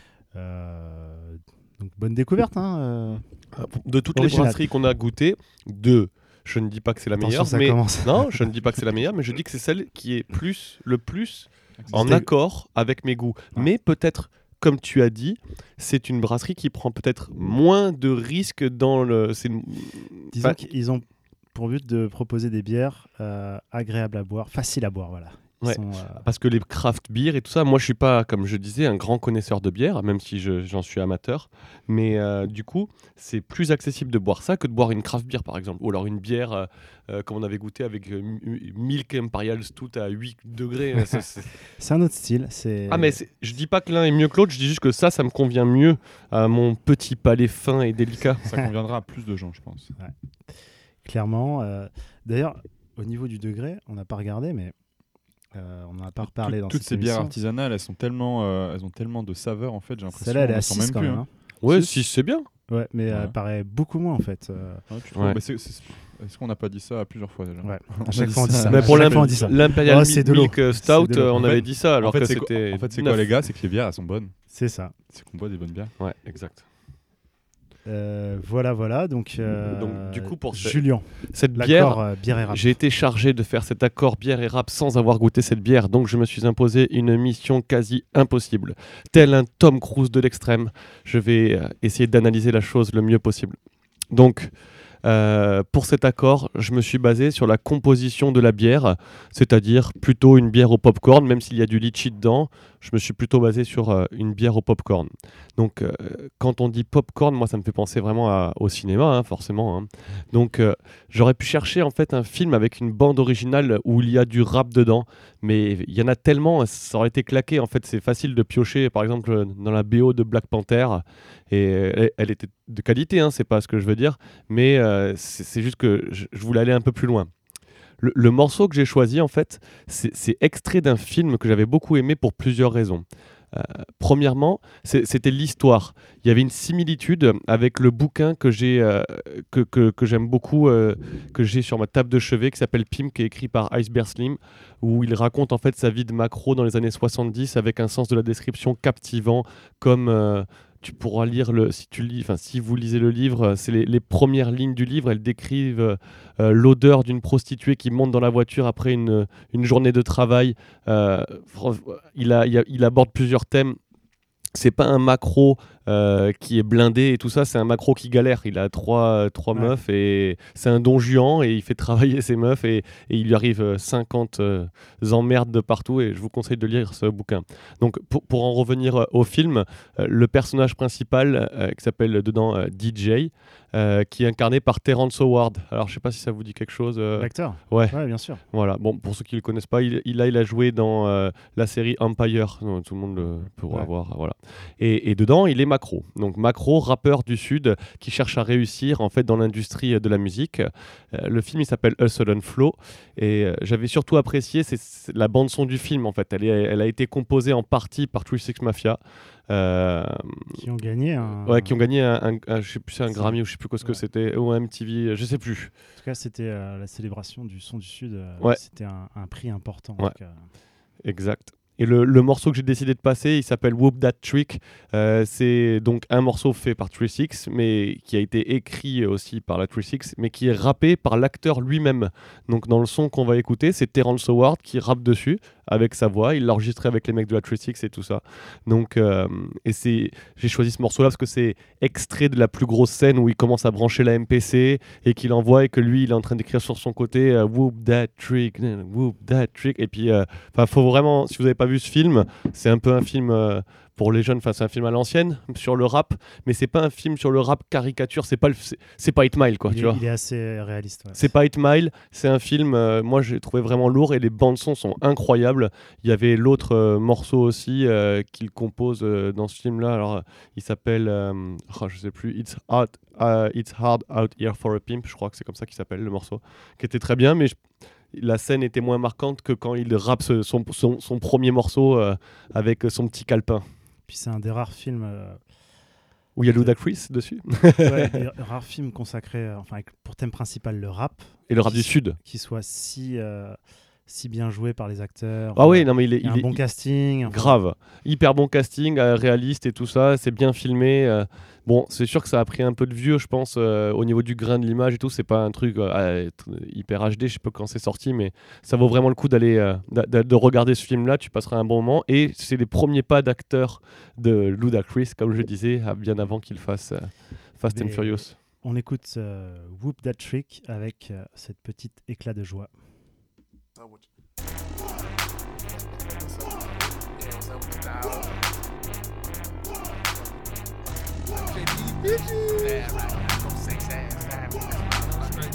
Donc bonne découverte. Hein, De toutes les Original. brasseries qu'on a goûtées, je ne dis pas que c'est la Attention, meilleure, ça mais commence. non, je ne dis pas que c'est la meilleure, mais je dis que c'est celle qui est le plus en C'était- accord avec mes goûts. Mais peut-être, comme tu as dit, c'est une brasserie qui prend peut-être moins de risques dans le. Disons Enfin, qu'ils ont pour but de proposer des bières agréables à boire, faciles à boire. Voilà. Ils Ouais. sont, Parce que les craft beer et tout ça, moi je suis pas, comme je disais, un grand connaisseur de bière, même si j'en suis amateur. Mais du coup, c'est plus accessible de boire ça que de boire une craft beer par exemple. Ou alors une bière comme on avait goûté avec Milk Imperial Stout à 8 degrés. c'est un autre style. Ah mais je dis pas que l'un est mieux que l'autre, je dis juste que ça me convient mieux à mon petit palais fin et délicat. Ça conviendra à plus de gens, je pense. Clairement. D'ailleurs, au niveau du degré, on n'a pas regardé, mais on n'en a pas reparlé dans Toutes cette ces bières émission. artisanales, elles ont tellement de saveurs en fait. J'ai l'impression. Celle-là, elle est on à sent 6 même quand plus, même. hein. Ouais, Six. 6 c'est bien. Ouais, mais Ouais. elle paraît beaucoup moins en fait. Ah, tu trouves Ouais. Mais est-ce qu'on n'a pas dit ça plusieurs fois déjà? Ouais. On À chaque dit fois, on dit ça. Mais À pour chaque fois, on dit ça. l'Imperial Oh, c'est de l'eau. Milk Stout, C'est de l'eau. on En avait fait- dit ça alors en fait, que c'est c'était. En fait, c'est quoi neuf. les gars? C'est que les bières elles sont bonnes. C'est ça. C'est qu'on boit des bonnes bières. Ouais, exact. Voilà. Donc, du coup, pour ce- Julien, Cette l'accord bière, bière et rap. j'ai été chargé de faire cet accord bière et rap sans avoir goûté cette bière, donc je me suis imposé une mission quasi impossible. Tel un Tom Cruise de l'extrême, je vais essayer d'analyser la chose le mieux possible. Donc, pour cet accord, je me suis basé sur la composition de la bière, c'est-à-dire plutôt une bière au popcorn, même s'il y a du litchi dedans, je me suis plutôt basé sur une bière au popcorn. Donc, quand on dit popcorn, moi, ça me fait penser vraiment au cinéma, forcément. Donc, j'aurais pu chercher en fait un film avec une bande originale où il y a du rap dedans, mais il y en a tellement, ça aurait été claqué. En fait, c'est facile de piocher, par exemple, dans la BO de Black Panther, et elle était de qualité, c'est pas ce que je veux dire, mais c'est juste que je voulais aller un peu plus loin. Le morceau que j'ai choisi, en fait, c'est extrait d'un film que j'avais beaucoup aimé pour plusieurs raisons. Premièrement, c'était l'histoire. Il y avait une similitude avec le bouquin que j'aime beaucoup, que j'ai sur ma table de chevet, qui s'appelle Pimp, qui est écrit par Iceberg Slim, où il raconte en fait sa vie de macro dans les années 70 avec un sens de la description captivant, comme tu pourras lire si vous lisez le livre, c'est les premières lignes du livre, elles décrivent l'odeur d'une prostituée qui monte dans la voiture après une journée de travail. Il aborde plusieurs thèmes. C'est pas un macro qui est blindé et tout ça, c'est un macro qui galère. Il a trois meufs et c'est un don Juan et il fait travailler ses meufs et il lui arrive 50 emmerdes de partout et je vous conseille de lire ce bouquin. Donc pour en revenir au film, le personnage principal qui s'appelle dedans DJ, qui est incarné par Terrence Howard. Alors je sais pas si ça vous dit quelque chose. L'acteur ? Ouais, bien sûr. Voilà. Bon, pour ceux qui le connaissent pas, il a joué dans la série Empire. Non, tout le monde le pourra voir. Voilà. Et dedans, il est macro. Donc macro, rappeur du Sud qui cherche à réussir en fait dans l'industrie de la musique. Le film il s'appelle Hustle and Flow et j'avais surtout apprécié c'est la bande son du film en fait. Elle a été composée en partie par 3 6 Mafia. Qui ont gagné un je sais plus, c'est un Grammy ou je sais plus quoi ce que c'était, ou un MTV, je sais plus. En tout cas, c'était la célébration du son du Sud. C'était un prix important. Ouais. Exact. Et le morceau que j'ai décidé de passer, il s'appelle Whoop That Trick. C'est donc un morceau fait par 3 6, mais qui a été écrit aussi par la 3 6, mais qui est rappé par l'acteur lui-même. Donc dans le son qu'on va écouter, c'est Terrence Howard qui rappe dessus avec sa voix. Il l'a enregistré avec les mecs de la 3 6 et tout ça. Donc, j'ai choisi ce morceau-là parce que c'est extrait de la plus grosse scène où il commence à brancher la MPC et qu'il envoie et que lui, il est en train d'écrire sur son côté Whoop That Trick, Whoop That Trick. Et puis, faut vraiment, si vous n'avez pas vu ce film, c'est un peu un film pour les jeunes, c'est un film à l'ancienne sur le rap, mais c'est pas un film sur le rap caricature, c'est pas 8 Mile quoi, tu vois. Il est assez réaliste. Ouais. C'est pas 8 Mile, c'est un film, moi j'ai trouvé vraiment lourd et les bandes son sont incroyables. Il y avait l'autre morceau aussi qu'il compose dans ce film-là, alors il s'appelle, je sais plus, It's Hard Out Here for a Pimp, je crois que c'est comme ça qu'il s'appelle le morceau, qui était très bien, mais la scène était moins marquante que quand il rappe son premier morceau avec son petit calepin. Puis c'est un des rares films où il y a Ludacris dessus. Des rares films consacrés, avec pour thème principal le rap. Et le rap du Sud. Qui soit si bien joué par les acteurs. Ah oui, non mais il est un bon casting. Grave, hyper bon casting, réaliste et tout ça, c'est bien filmé. Bon, c'est sûr que ça a pris un peu de vieux, je pense, au niveau du grain de l'image et tout. C'est pas un truc hyper HD, je sais pas quand c'est sorti, mais ça vaut vraiment le coup d'aller de regarder ce film-là. Tu passeras un bon moment. Et c'est les premiers pas d'acteur de Ludacris, comme je disais, bien avant qu'il fasse Fast and Furious. On écoute Whoop That Trick avec cette petite éclat de joie. Yeah, right. Go 6 ass down. Straight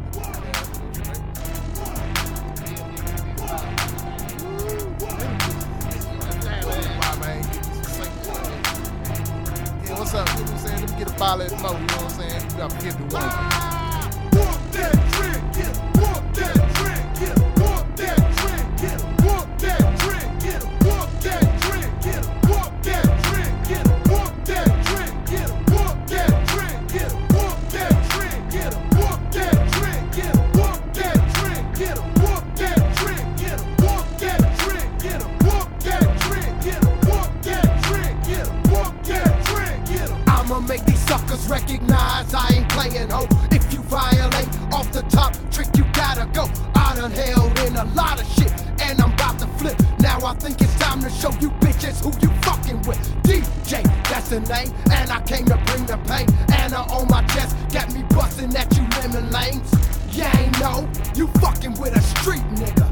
yeah, what's up? You know what I'm saying? Let me get a bottle at the mo, you know what I'm saying? You got to give the one. Whoop that trick, get him. Whoop that trick, get him. Whoop that trick, get him. Whoop that trick, get him. Whoop that trick, get him. Whoop that trick, get him. Whoop that trick, get him. Whoop that trick, get him. Whoop that trick, get him. Whoop that trick, get him. Whoop that trick, get him. Whoop that trick, get him. Whoop that trick, get him. Whoop that trick, get him. Whoop that trick, get him. Whoop that trick, get him. I'ma make these suckers recognize I ain't playing, ho. If you violate off the top trick, you gotta go. I done held in a lot of shit, and I'm about to flip. Now I think it's time to show you bitches who you fucking with. DJ, that's the name, and I came to bring the pain. Anna on my chest, got me busting at you lemon lanes. You ain't know, you fucking with a street nigga.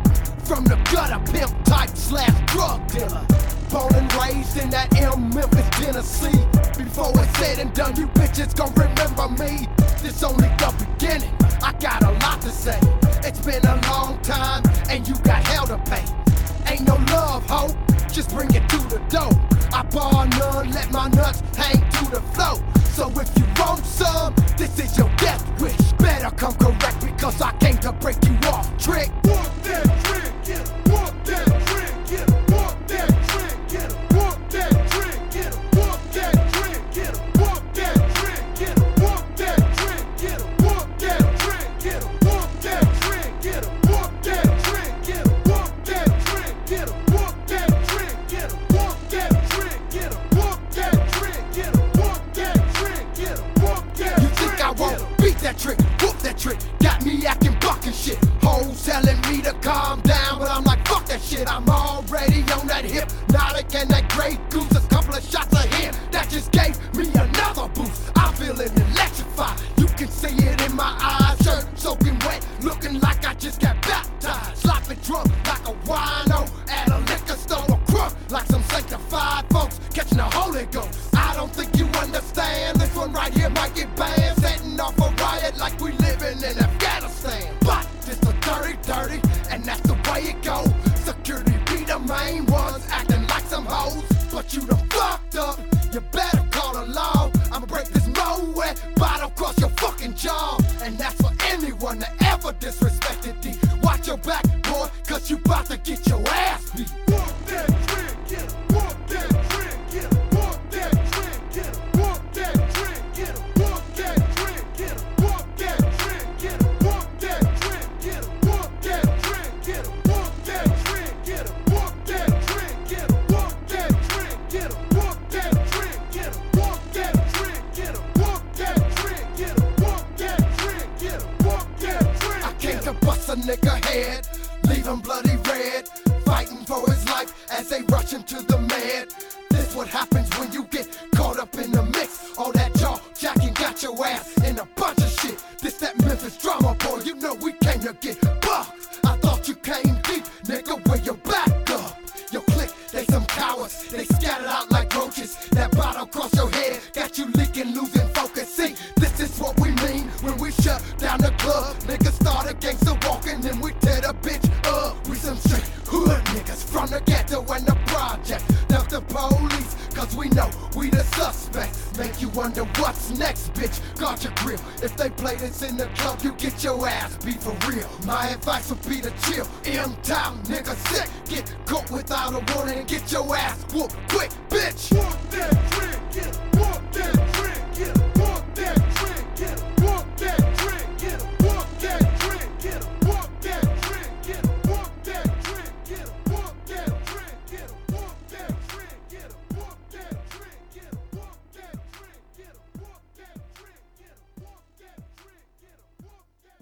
from the gutter, pimp type / drug dealer. Born and raised in that Memphis, Tennessee. Before it's said and done, you bitches gon' remember me. This only the beginning, I got a lot to say. It's been a long time, and you got hell to pay. Ain't no love, hope, just bring it to the door. I bar none, let my nuts hang to the floor. So if you want some, this is your death wish. Better come correct because I came to break you off, trick. Walk that trick, get it. Walk that trick, get it. Walk that trick, get it. Walk that trick, get it. Walk that trick, get it. Walk that trick, get it. Walk that trick, get it. Walk that trick, get it. Walk that trick, get it. Walk that trick, get it. Walk that trick, get it. Walk that trick, get it. Walk that trick, get it. Walk that trick, get it. Walk that trick, get it. Walk that. You think I won't beat that trick, whoop that trick? Got me acting buck and shit. Hoes telling me to calm down, but I'm like, fuck that shit. I'm already on that hypnotic and that Grey Goose. A couple of shots of him that just gave me another boost. I'm feeling electrified. You can see it in my eyes. Shirt soaking wet, looking like I just got baptized. Sloppy drunk like a wino at a liquor store. A crunk like some sanctified folks catching the Holy Ghost. I don't think you understand. This one right here might get banned. Setting off a riot like we living in Afghanistan. But this a dirty, and that's the way it goes. Security be the main ones acting like some hoes. But you done fucked up, you better call the law. I'ma break this Moet bottle across your fucking jaw. And that's for anyone that ever disrespected D. Watch your back, boy, cause you bout to get your ass beat. Walk that trick, get it. Walk that trick, get it. Walk that trick, get it. Walk that trick, get it. Walk that trick, get it. Walk that trick, get it. Walk that trick, get it. Walk that trick, get it. Walk that trick, get it. Walk that trick, get it. Walk that trick, get it. Walk that trick, get it. Walk that trick, get it. Walk that trick, get it. Walk that trick, get it. Walk that trick. I came to bust a nigga head, leave him bloody red, fighting for his life as they rush him to the med. This what happens when you get caught up in the mix. All that jaw jacking got your ass in a bunch of shit. This that Memphis drama, boy, you know we came to get bucked. I thought you came deep, nigga, where your back up. Your clique, they some cowards, they scattered out like roaches. That bottle across your head got you leaking, losing focus. See, this is what we mean when we shut down the club. Niggas started gangsta walking, then we tear the bitch up. We some straight hood niggas from the ghetto and the project. Duck the police, cause we know we the suspects. Make you wonder what's next, bitch. Guard your grill. If they play this in the club, you get your ass beat for real. My advice would be to chill. M-Town, nigga sick. Get caught without a warning and get your ass whooped quick, bitch. Walk that trick, get it. Walk that trick, get it. Walk that trick, get it. Walk that trick, get it. Walk that trick, get it. Walk that trick, get it. Walk that trick, get it. Walk that trick, get it. Walk that trick, get it. Walk that trick, get it. Walk that trick, get it. Walk that trick, get it. Walk that trick, get it. Walk that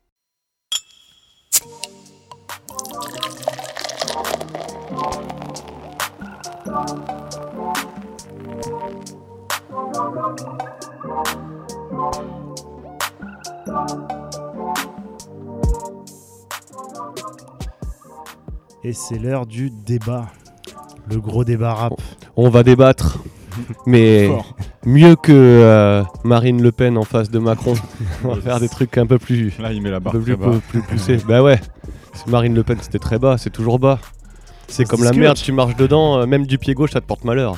Et c'est l'heure du débat. Le gros débat rap. On va débattre, mais Fort. mieux que Marine Le Pen en face de Macron. On va faire des trucs un peu plus, Là, il met la un barre peu très plus, bas. plus poussés. Bah ouais, si Marine Le Pen c'était très bas, c'est toujours bas. C'est Ça comme se la discute. merde, tu marches dedans, même du pied gauche ça te porte malheur.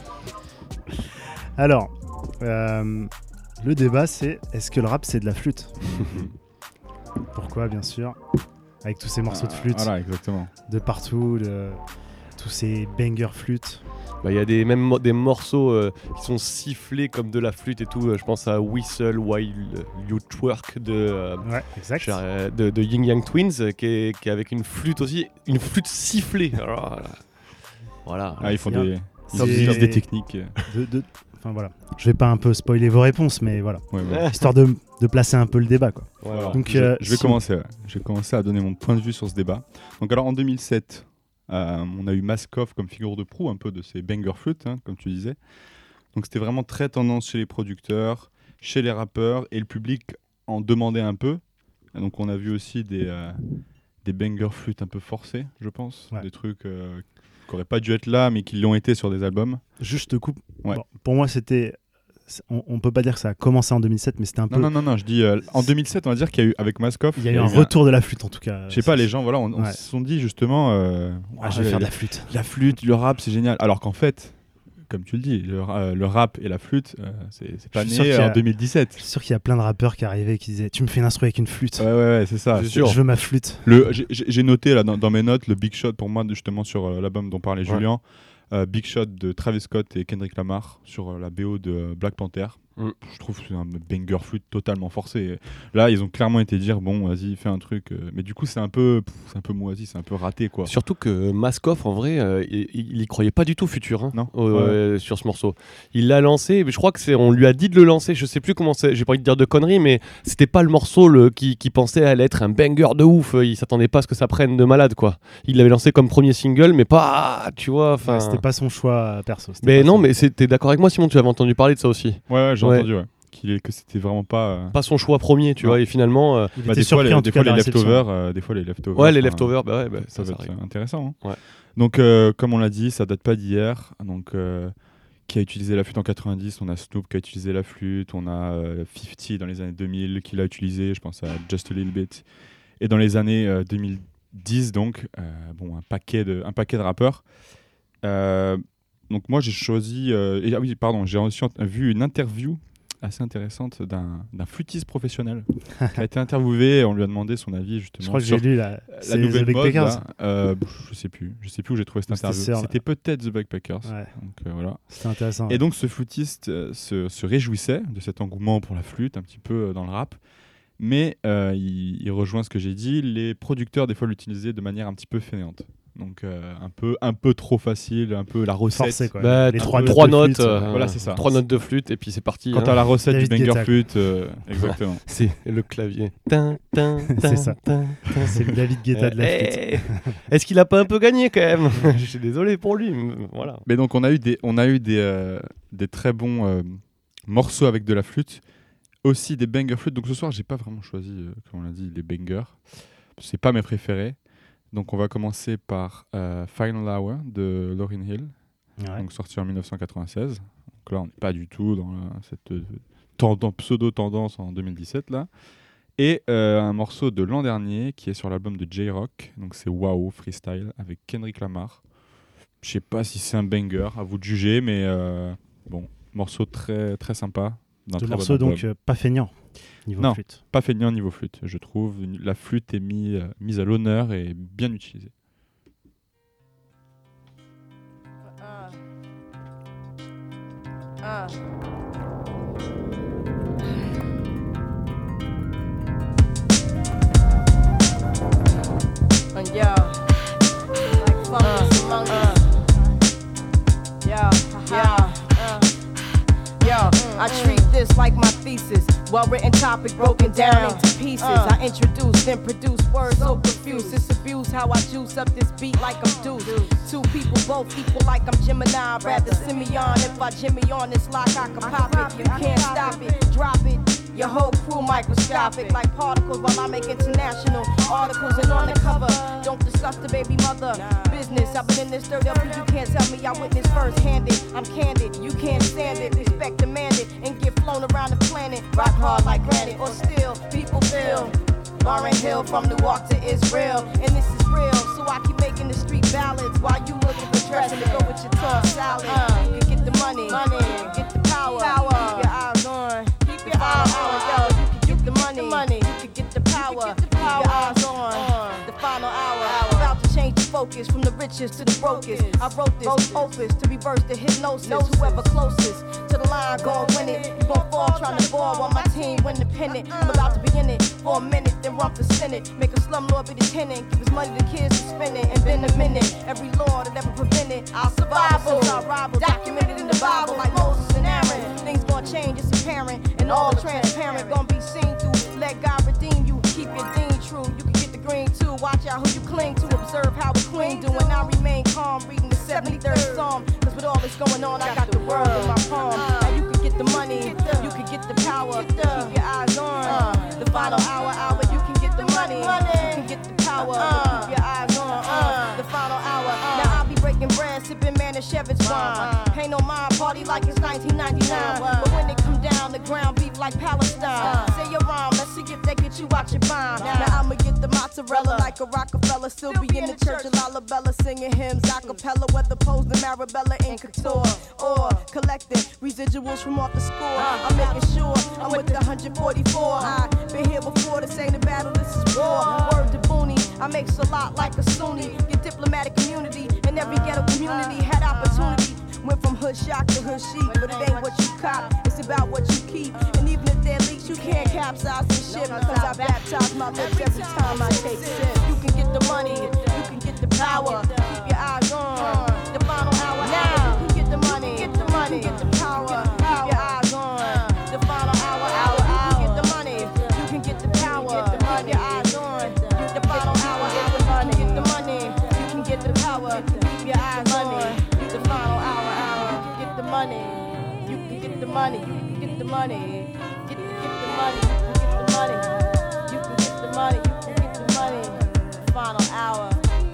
Alors, le débat c'est est-ce que le rap c'est de la flûte? Pourquoi, bien sûr, avec tous ces morceaux de flûte Voilà, exactement. de partout, tous ces bangers flûtes. Bah, y a des morceaux qui sont sifflés comme de la flûte et tout. Je pense à Whistle While You Twerk de Yin Yang Twins qui est avec une flûte aussi, une flûte sifflée. Alors, voilà. Ah, ils font des techniques. Enfin voilà, je vais pas un peu spoiler vos réponses, mais voilà, Ouais, ouais. histoire de placer un peu le débat, quoi. Voilà. Donc, je vais si- commencer à donner mon point de vue sur ce débat. Donc alors en 2007, on a eu Maskov comme figure de proue un peu de ces banger flûtes, hein, comme tu disais. Donc c'était vraiment très tendance chez les producteurs, chez les rappeurs, et le public en demandait un peu. Et donc on a vu aussi des des bangers flûtes un peu forcés, je pense. Des trucs qui n'auraient pas dû être là, mais qui l'ont été sur des albums. Juste, je te coupe. Bon, pour moi, c'était... On peut pas dire que ça a commencé en 2007, mais c'était un peu... Non, je dis en 2007, on va dire qu'il y a eu, avec Mask Off... Il y a eu un retour de la flûte, en tout cas. Je sais pas, les gens, voilà, on se sont dit justement... je vais faire de la flûte. La flûte, le rap, c'est génial. Alors qu'en fait, comme tu le dis, le rap et la flûte, c'est pas né en 2017. Je suis sûr qu'il y a plein de rappeurs qui arrivaient et qui disaient « Tu me fais l'instru avec une flûte. » Ouais, c'est ça. Je veux ma flûte. J'ai noté là, dans mes notes le Big Shot, pour moi, justement, sur l'album dont parlait Julien. Big Shot de Travis Scott et Kendrick Lamar sur la BO de Black Panther. Je trouve que c'est un banger flûte totalement forcé. Là, ils ont clairement été dire bon, vas-y, fais un truc. Mais du coup, c'est un peu moisi, c'est un peu raté, quoi. Surtout que Mask Off, en vrai, il y croyait pas du tout Future, hein, non sur ce morceau. Il l'a lancé, mais je crois que on lui a dit de le lancer. Je sais plus comment c'est. J'ai pas envie de dire de conneries, mais c'était pas le morceau qui pensait aller être un banger de ouf. Il s'attendait pas à ce que ça prenne de malade, quoi. Il l'avait lancé comme premier single, mais pas, tu vois. Enfin, c'était pas son choix perso. Mais non, mais t'es d'accord avec moi, Simon? Tu avais entendu parler de ça aussi? Ouais, j'ai entendu, que c'était vraiment pas son choix premier, tu vois, et finalement il était surpris en tout cas les leftovers les leftovers ça va être intéressant, hein. Ouais. Donc comme on l'a dit, ça date pas d'hier. Donc qui a utilisé la flûte en 90, on a Snoop qui a utilisé la flûte, on a 50 dans les années 2000 qui l'a utilisé, je pense à Just a Little Bit, et dans les années 2010 donc un paquet de rappeurs. Donc moi j'ai choisi j'ai aussi vu une interview assez intéressante d'un flûtiste professionnel qui a été interviewé et on lui a demandé son avis justement. Je crois que j'ai lu la nouvelle mode. Je sais plus où j'ai trouvé cette interview. C'était peut-être The Backpackers. Ouais. Donc voilà. C'était intéressant. Et donc ce flûtiste se réjouissait de cet engouement pour la flûte un petit peu dans le rap, mais il rejoint ce que j'ai dit. Les producteurs des fois l'utilisaient de manière un petit peu fainéante. Donc un peu trop facile, un peu la recette. Forcé, quoi. Les trois notes, voilà, c'est ça. 3 notes de flûte et puis c'est parti. Quand t'as la recette du banger flûte, exactement. C'est le clavier. C'est ça. C'est le David Guetta de la flûte. Est-ce qu'il a pas un peu gagné quand même? Je suis désolé pour lui. Voilà. Mais donc on a eu des très bons morceaux avec de la flûte, aussi des banger flûte. Donc ce soir j'ai pas vraiment choisi, comme on l'a dit, les bangers. C'est pas mes préférés. Donc on va commencer par Final Hour de Lauryn Hill, donc sorti en 1996. Donc là on n'est pas du tout dans cette pseudo-tendance en 2017 là. Et un morceau de l'an dernier qui est sur l'album de J-Rock, donc c'est Wow Freestyle avec Kendrick Lamar. Je sais pas si c'est un banger, à vous de juger, mais morceau très très sympa. Le morceau donc pas feignant. Non, flûte. Pas feignant niveau flûte, je trouve. La flûte est mise à l'honneur et bien utilisée. I treat this like my thesis. Well-written topic broken down into pieces. I introduce, then produce words so profuse. It's abuse how I juice up this beat like I'm Deuce. Two people both equal like I'm Gemini. Rather Simeon. If I Jimmy on this lock, I can pop it. You can't stop it, drop it. Your whole crew microscopic like particles while I make international articles. And on the cover, don't discuss the baby mother business. I've been in this dirt up, you can't tell me I witnessed first-handed. I'm candid, you can't stand it. Respect demanded and get flown around the planet. Rock hard like granite or steel, people feel. Lauryn Hill from Newark to Israel, and this is real. So I keep making the street ballads while you looking for dressing to go with your tongue salad. You can get the money, you can get the power. Keep your eyes on. Keep your eyes on, yo. You can get the money, you can get the power. Keep your eyes on the final hour. About to change the focus from the richest to the brokest. I wrote this opus to reverse the hypnosis. Whoever closest to the line gon' win it. You gon' fall trying to ball while my team win the pennant. I'm about to be in it for a minute, then run for Senate. Make a slumlord be the tenant. Give his money to kids to spend it. And been a minute. Every law that ever prevented our survival. Since our rival, documented in the Bible like Moses and Aaron. Things gon' change, it's apparent. And all transparent gon' be seen through. Let God redeem you. Keep your dean true. You can get the green too. Watch out who you cling to. Observe how a queen do. And I remain calm, reading the 73rd Psalm. Cause with all this going on, I got the world in my palm. Now you can get the money, you can get the power. Keep your eyes on the final hour. You can get the money, you can get the power. time, party like it's 1999. But when it come down, the ground beef like Palestine. Say your rhyme, let's see if they get you out your mind. Now I'ma get the mozzarella like a Rockefeller. Still be in the church of Lalabella singing hymns a cappella, whether posed in Marabella in couture or collecting residuals from off the score. I'm making sure I'm with the 144. I've been here before, this ain't a battle, this is war. Word to Booney, I makes a lot like a Sunni. Get diplomatic community in every ghetto community. Had opportunity, went from hood shock to hood chic. But it ain't what you cop, it's about what you keep. And even if they're leaks, you can't capsize the ship. Cause I baptize my lips every time I take sip. You can get the money, you can get the power. Keep your eyes on the final hour. Now you can get the money, get the money, get the power. Keep your eyes on the final hour. You can get the money, you can get the power. Keep your eyes on the final hour. Get the money, you can get the power. Keep your eyes on the final hour. Get the money, you can get the money, you can get the money. Get the money, get the money. You can get the money, you can get the money. Final hour.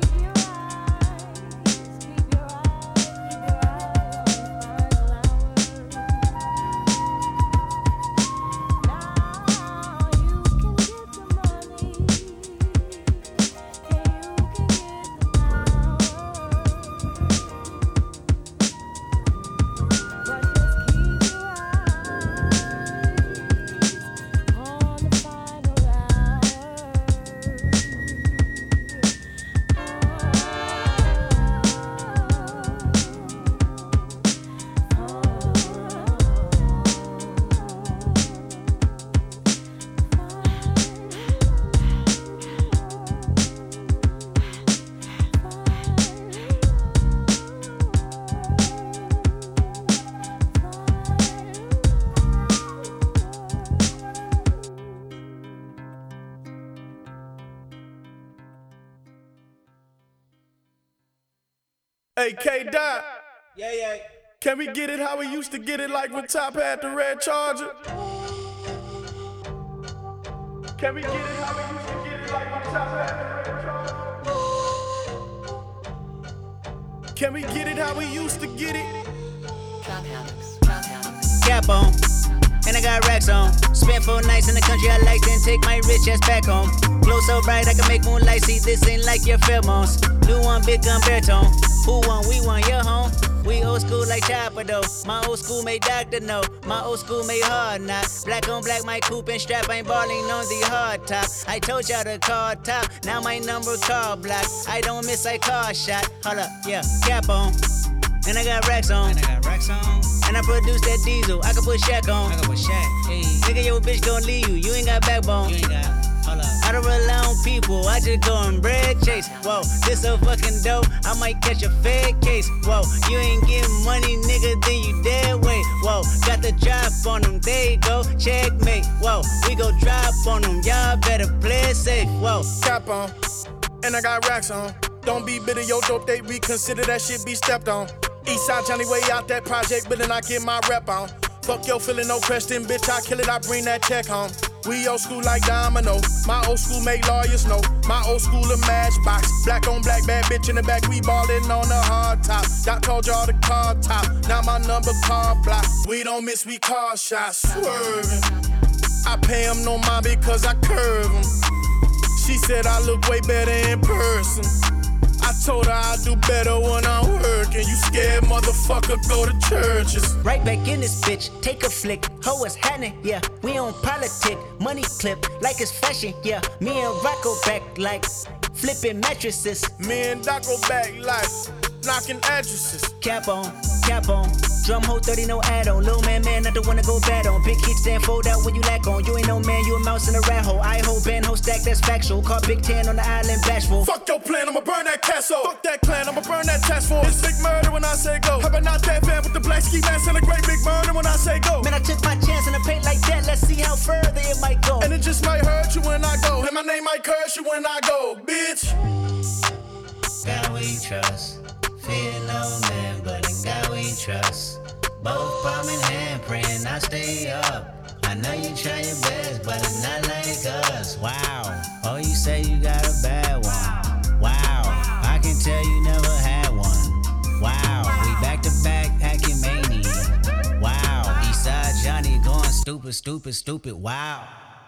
Hey, K-Dot. Yeah. Can we get it how we used to get it, like when Top had the red Charger? Can we get it how we used to get it, like when Top had the red Charger? Can we get it how we used to get it? Cap on, and I got racks on. Spent 4 nights in the country I like, then take my rich ass back home. Glow so bright I can make moonlight see. This ain't like your pheromones. Do one big gun baritone. Who won? We won. Your home. We old school like Chopper though. My old school made Dr. No. My old school made hard knock. Black on black, my coupe and strap. Ain't balling on the hard top. I told y'all to call top. Now my number call block. I don't miss, I call shot. Hold up, yeah, cap on. And I got racks on. And I produce that diesel. I can put Shaq on. Hey. Nigga, your bitch gon' leave you. You ain't got backbone. I don't rely on people. I just go and bread chase. Whoa, this so fucking dope. I might catch a fed case. Whoa, you ain't getting money, nigga, then you dead weight. Whoa, got the drop on them. There you go, checkmate. Whoa, we go drop on them. Y'all better play it safe. Whoa, cap on. And I got racks on. Don't be bitter, yo, dope, they reconsider that shit be stepped on. Eastside Johnny way out that project, but then I get my rep on. Fuck yo, feeling no question, bitch, I kill it, I bring that check home. We old school like Domino, my old school make lawyers know. My old school a matchbox, black on black, bad bitch in the back, we ballin' on the hard top. Doc told y'all the car top, now my number car block. We don't miss, we car shots, swerving. I pay him no mind because I curve him. She said I look way better in person. I told her I do better when I'm working. You scared motherfucker, go to churches. Right back in this bitch, take a flick. Ho, what's happening? Yeah, we on politic. Money clip, like it's fashion. Yeah, me and Rocco back like flipping mattresses. Me and Doc go back like knocking addresses. Cap on, drum hole 30, no add-on. Little man, not the one to go bad on. Big hits then fold out when you lack on. You ain't no man, you a mouse in a rat hole. I hold band, hold stack, that's factual. Call Big 10 on the island, bashful. Fuck your plan, I'ma burn that castle. Fuck that clan, I'ma burn that task force. It's big murder when I say go. How about not that fan with the black ski mask and a great big murder when I say go. Man, I took my chance in a paint like that. Let's see how further it might go. And it just might hurt you when I go. And my name might curse you when I go, bitch. God we trust. Fear no man, but in God we trust. Both palm in hand, praying I stay up. I know you try your best, but it's not like us. Wow. Oh, you say you got a bad one. Wow. I can tell you never had one. Wow. We back to back, acting mania. stupid, stupid, stupid. Wow.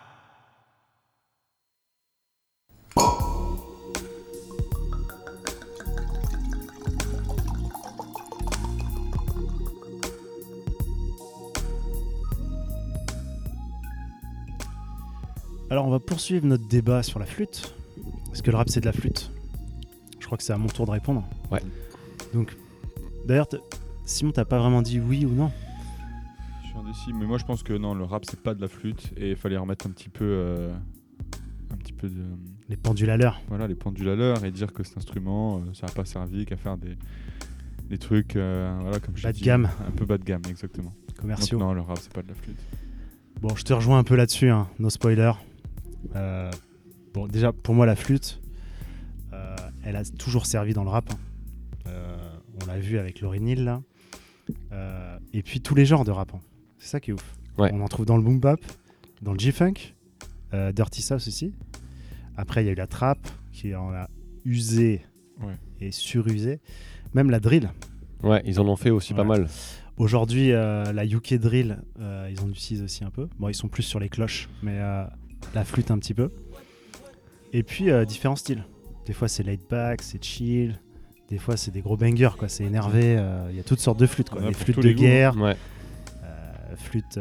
Alors on va poursuivre notre débat sur la flûte. Est-ce que le rap c'est de la flûte ? Je crois que c'est à mon tour de répondre. Ouais. Donc, d'ailleurs, Simon, t'as pas vraiment dit oui ou non ? Je suis indécis, mais moi je pense que non, le rap c'est pas de la flûte et il fallait remettre un petit peu de... Les pendules à l'heure. Voilà, les pendules à l'heure et dire que cet instrument, ça n'a pas servi qu'à faire des trucs, voilà, comme je Bas de dis, gamme. un peu bas de gamme, exactement. Commerciaux. Donc non, le rap c'est pas de la flûte. Bon, je te rejoins un peu là-dessus, hein. No spoiler. Bon, déjà, pour moi, la flûte, elle a toujours servi dans le rap. Hein. On l'a vu avec Lauryn Hill, là. Et puis tous les genres de rap. Hein. C'est ça qui est ouf. Ouais. On en trouve dans le boom bap, dans le G-funk, Dirty South aussi. Après, il y a eu la trap qui en a usé et surusé. Même la drill. Ouais, ils en ont fait aussi pas mal. Aujourd'hui, la UK drill, ils en utilisent aussi un peu. Bon, ils sont plus sur les cloches, mais la flûte un petit peu. Et puis, différents styles. Des fois, c'est laid back, c'est chill. Des fois, c'est des gros bangers, quoi. C'est énervé. Il y a toutes sortes de flûtes, quoi. Ouais, Les pour flûtes tous de les goûts, guerre, Ouais. flûtes...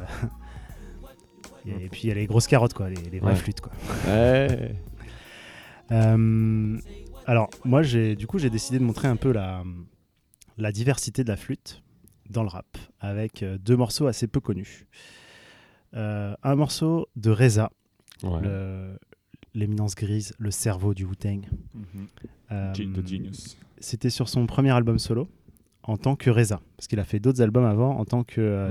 et puis, il y a les grosses carottes, quoi. Les vraies flûtes, quoi. Ouais. Alors, moi, j'ai décidé de montrer un peu la diversité de la flûte dans le rap, avec deux morceaux assez peu connus. Un morceau de Reza, l'éminence grise, le cerveau du Wu-Tang. The Genius. C'était sur son premier album solo, en tant que Reza, parce qu'il a fait d'autres albums avant en tant que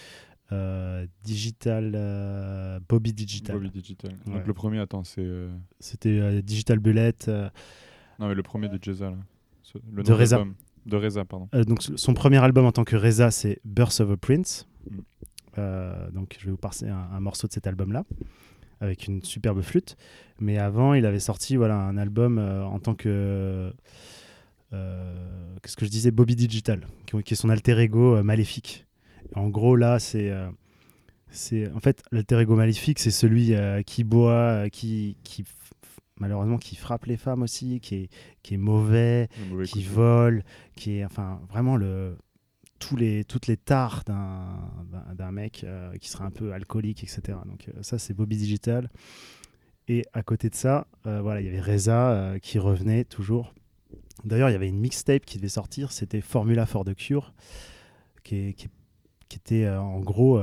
Digital, Bobby Digital. Bobby Digital. Ouais. Donc le premier, attends, c'était Digital Bullet. Non, mais le premier de Jeza, là. Le De nom Reza. d'album. De Reza, pardon. Donc son premier album en tant que Reza, c'est Birth of a Prince. Donc je vais vous passer un morceau de cet album-là, avec une superbe flûte. Mais avant, il avait sorti un album en tant que... qu'est-ce que je disais, Bobby Digital, qui est son alter ego maléfique. Et en gros, là, c'est en fait, l'alter ego maléfique, c'est celui qui boit, malheureusement, qui frappe les femmes aussi, qui est mauvais, qui vole, qui est, enfin, vraiment toutes les tares d'un mec qui serait un peu alcoolique, etc. Donc ça, c'est Bobby Digital. Et à côté de ça, il y avait Reza qui revenait toujours. D'ailleurs, il y avait une mixtape qui devait sortir, c'était Formula for the Cure, qui était en gros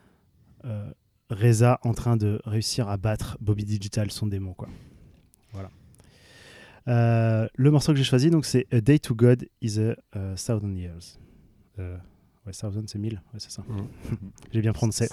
Reza en train de réussir à battre Bobby Digital, son démon, quoi. Voilà. Le morceau que j'ai choisi, donc, c'est A Day to God is a Thousand Years. Thousand, c'est 1000, c'est ça. J'ai bien prononcé.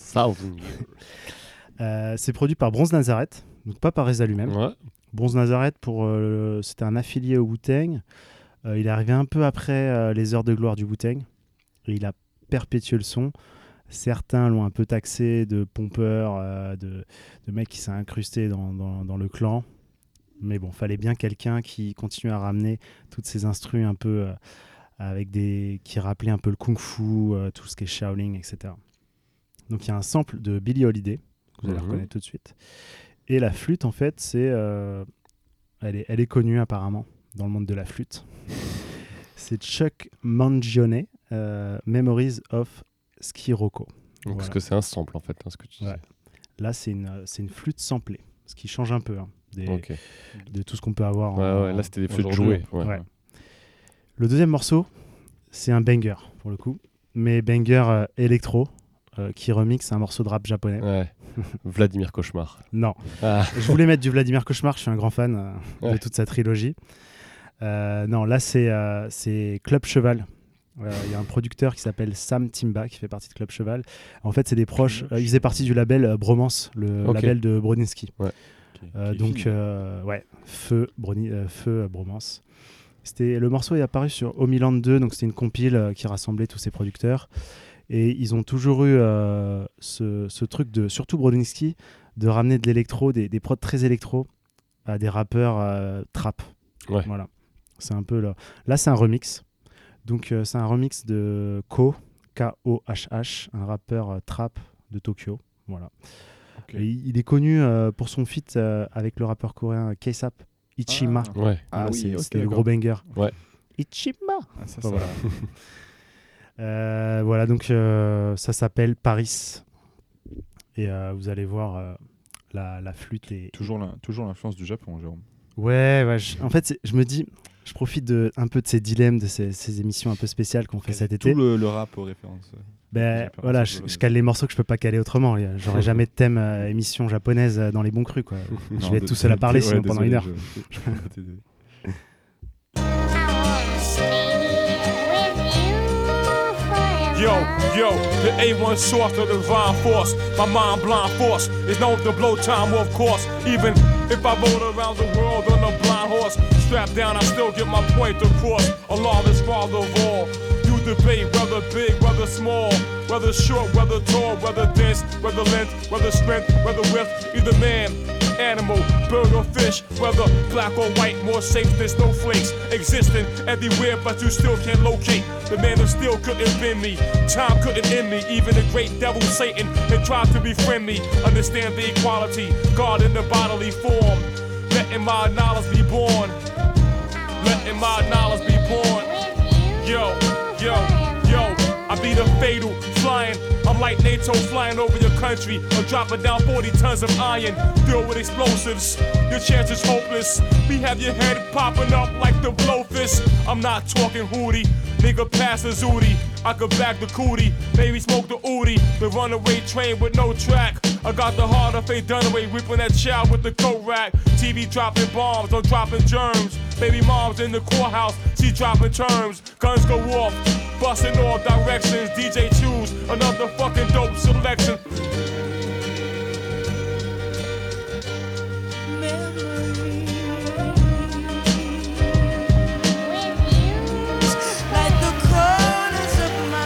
C'est produit par Bronze Nazareth, donc pas par Reza lui-même. Ouais. Bronze Nazareth, c'était un affilié au Wu-Tang. Il est arrivé un peu après les heures de gloire du Wu-Tang. Et il a perpétué le son. Certains l'ont un peu taxé de pompeur, de mec qui s'est incrusté dans le clan. Mais bon, fallait bien quelqu'un qui continue à ramener toutes ces instrus un peu qui rappelaient un peu le kung-fu, tout ce qui est Shaolin, etc. Donc il y a un sample de Billie Holiday, que vous allez reconnaître tout de suite. Et la flûte, en fait, elle est connue apparemment dans le monde de la flûte. C'est Chuck Mangione, Memories of Skiroko. Donc parce que c'est un sample en fait, ce que tu dis. Là, c'est une flûte samplée, ce qui change un peu de tout ce qu'on peut avoir. Là, c'était des flûtes jouées. Ouais. Le deuxième morceau, c'est un banger pour le coup, mais banger électro. Qui remixe un morceau de rap japonais. Ouais. Vladimir Cauchemar. Non. Je voulais mettre du Vladimir Cauchemar, je suis un grand fan de toute sa trilogie. Non, là c'est Club Cheval. Il y a un producteur qui s'appelle Sam Timba qui fait partie de Club Cheval. En fait, c'est des proches. Il faisait partie du label Bromance, le label de Brodinski. Ouais. Donc, Feu Bromance. Le morceau est apparu sur Homeland 2, donc c'était une compile qui rassemblait tous ces producteurs. Et ils ont toujours eu ce truc surtout Brodinski, de ramener de l'électro, des prods très électro à des rappeurs trap. Ouais. Voilà. C'est un peu là, c'est un remix. Donc c'est un remix de Ko, K-O-H-H, un rappeur trap de Tokyo. Voilà. Ok. Et il est connu pour son feat avec le rappeur coréen K-Sap Ichima. Ouais. Ah oui, c'est ok, c'était le d'accord. gros banger. Ouais. Ichima. Ah, ça, Enfin, voilà, donc ça s'appelle Paris. Et vous allez voir, la flûte est... toujours l'influence du Japon, Jérôme. Ouais, en fait, je me dis, je profite un peu de ces dilemmes, de ces émissions un peu spéciales qu'on fait cet été. Tout le rap aux références. Ben voilà, je cale les morceaux que je peux pas caler autrement. J'aurais jamais de thème émission japonaise dans les bons crus, quoi. Je vais être tout seul à parler sinon pendant une heure. Je peux pas t'aider. Yo, the A1 source of the divine force. My mind blind force is known to blow time of course. Even if I rode around the world on a blind horse, strapped down, I still get my point across. Allah is father of all. You debate whether big, whether small, whether short, whether tall, whether dense, whether length, whether strength, whether width. Either man, animal, bird or fish, whether black or white, more safe than snowflakes, existing everywhere but you still can't locate. The man of steel couldn't bend me, time couldn't end me. Even the great devil Satan had tried to befriend me. Understand the equality, God in the bodily form, letting my knowledge be born, letting my knowledge be born. Yo, I be the fatal flying. I'm like NATO flying over your country or dropping down 40 tons of iron. Filled with explosives, your chance is hopeless. We have your head popping up like the blowfish. I'm not talking hootie, nigga pass the zooty. I could back the cootie, maybe smoke the ooty. The runaway train with no track. I got the heart of Faye Dunaway, whipping that child with the coat rack. TV dropping bombs, I'm dropping germs. Baby mom's in the courthouse, she dropping terms. Guns go off, busting all directions. DJ choose another fucking dope selection. Like the corners of my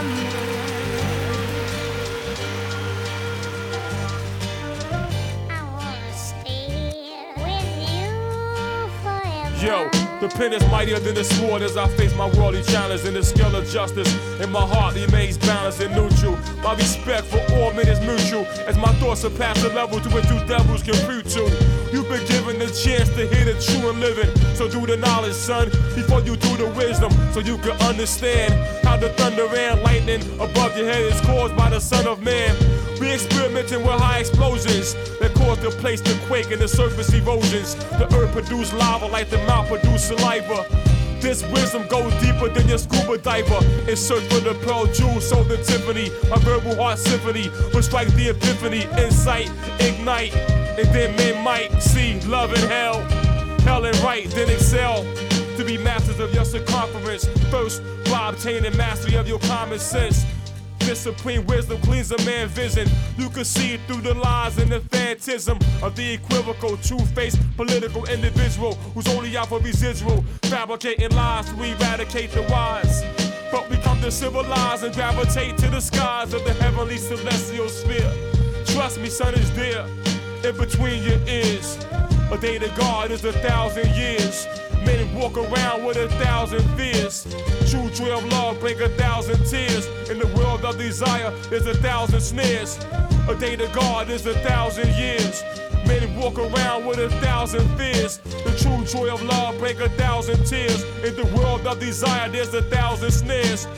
Yo, the pen is mightier than the sword as I face my worldly challenge. And the scale of justice in my heart remains balanced and neutral. My respect for all men is mutual as my thoughts surpass the level to which you devils can preach to. You've been given the chance to hear the true and living. So do the knowledge, son, before you do the wisdom. So you can understand how the thunder and lightning above your head is caused by the Son of Man. We experimenting with high explosions that cause the place to quake and the surface erosions. The earth produce lava like the mouth produce saliva. This wisdom goes deeper than your scuba diver. In search for the pearl jewels, sold in Tiffany. My verbal heart symphony will strike the epiphany. Insight, ignite, and then men might see love and hell. Hell and right, then excel. To be masters of your circumference. First, by obtaining mastery of your common sense. This supreme wisdom cleans a man's vision. You can see through the lies and the phantasm of the equivocal, two-faced political individual who's only out for residual, fabricating lies to eradicate the wise. But we come to civilize and gravitate to the skies of the heavenly celestial sphere. Trust me, son, is there in between your ears. A day to God is 1,000 years. Men walk around with 1,000 fears. True joy of love bring 1,000 tears. In the world of desire, there's 1,000 snares. A day to God is 1,000 years. Men walk around with 1,000 fears. The true joy of love bring 1,000 tears. In the world of desire, there's 1,000 snares.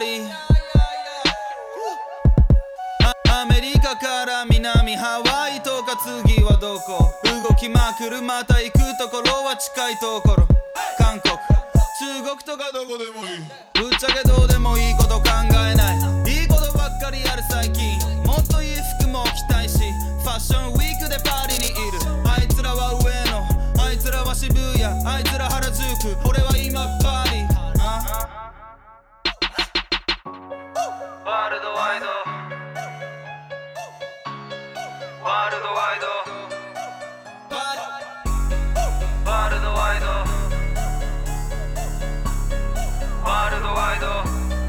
りアメリカから南ハワイとか次はどこ動きまくるまた行くところは近いところ韓国中国とかどこでもいいぶっちゃけどうでもいいこと考えないいいことばっかりやる最近もっといい服も着たいしファッションウィークでパリにいるあいつらは上野あいつらは渋谷あいつら原宿俺は今パリワールドワイドワールドワイドワールドワイドワールドワイド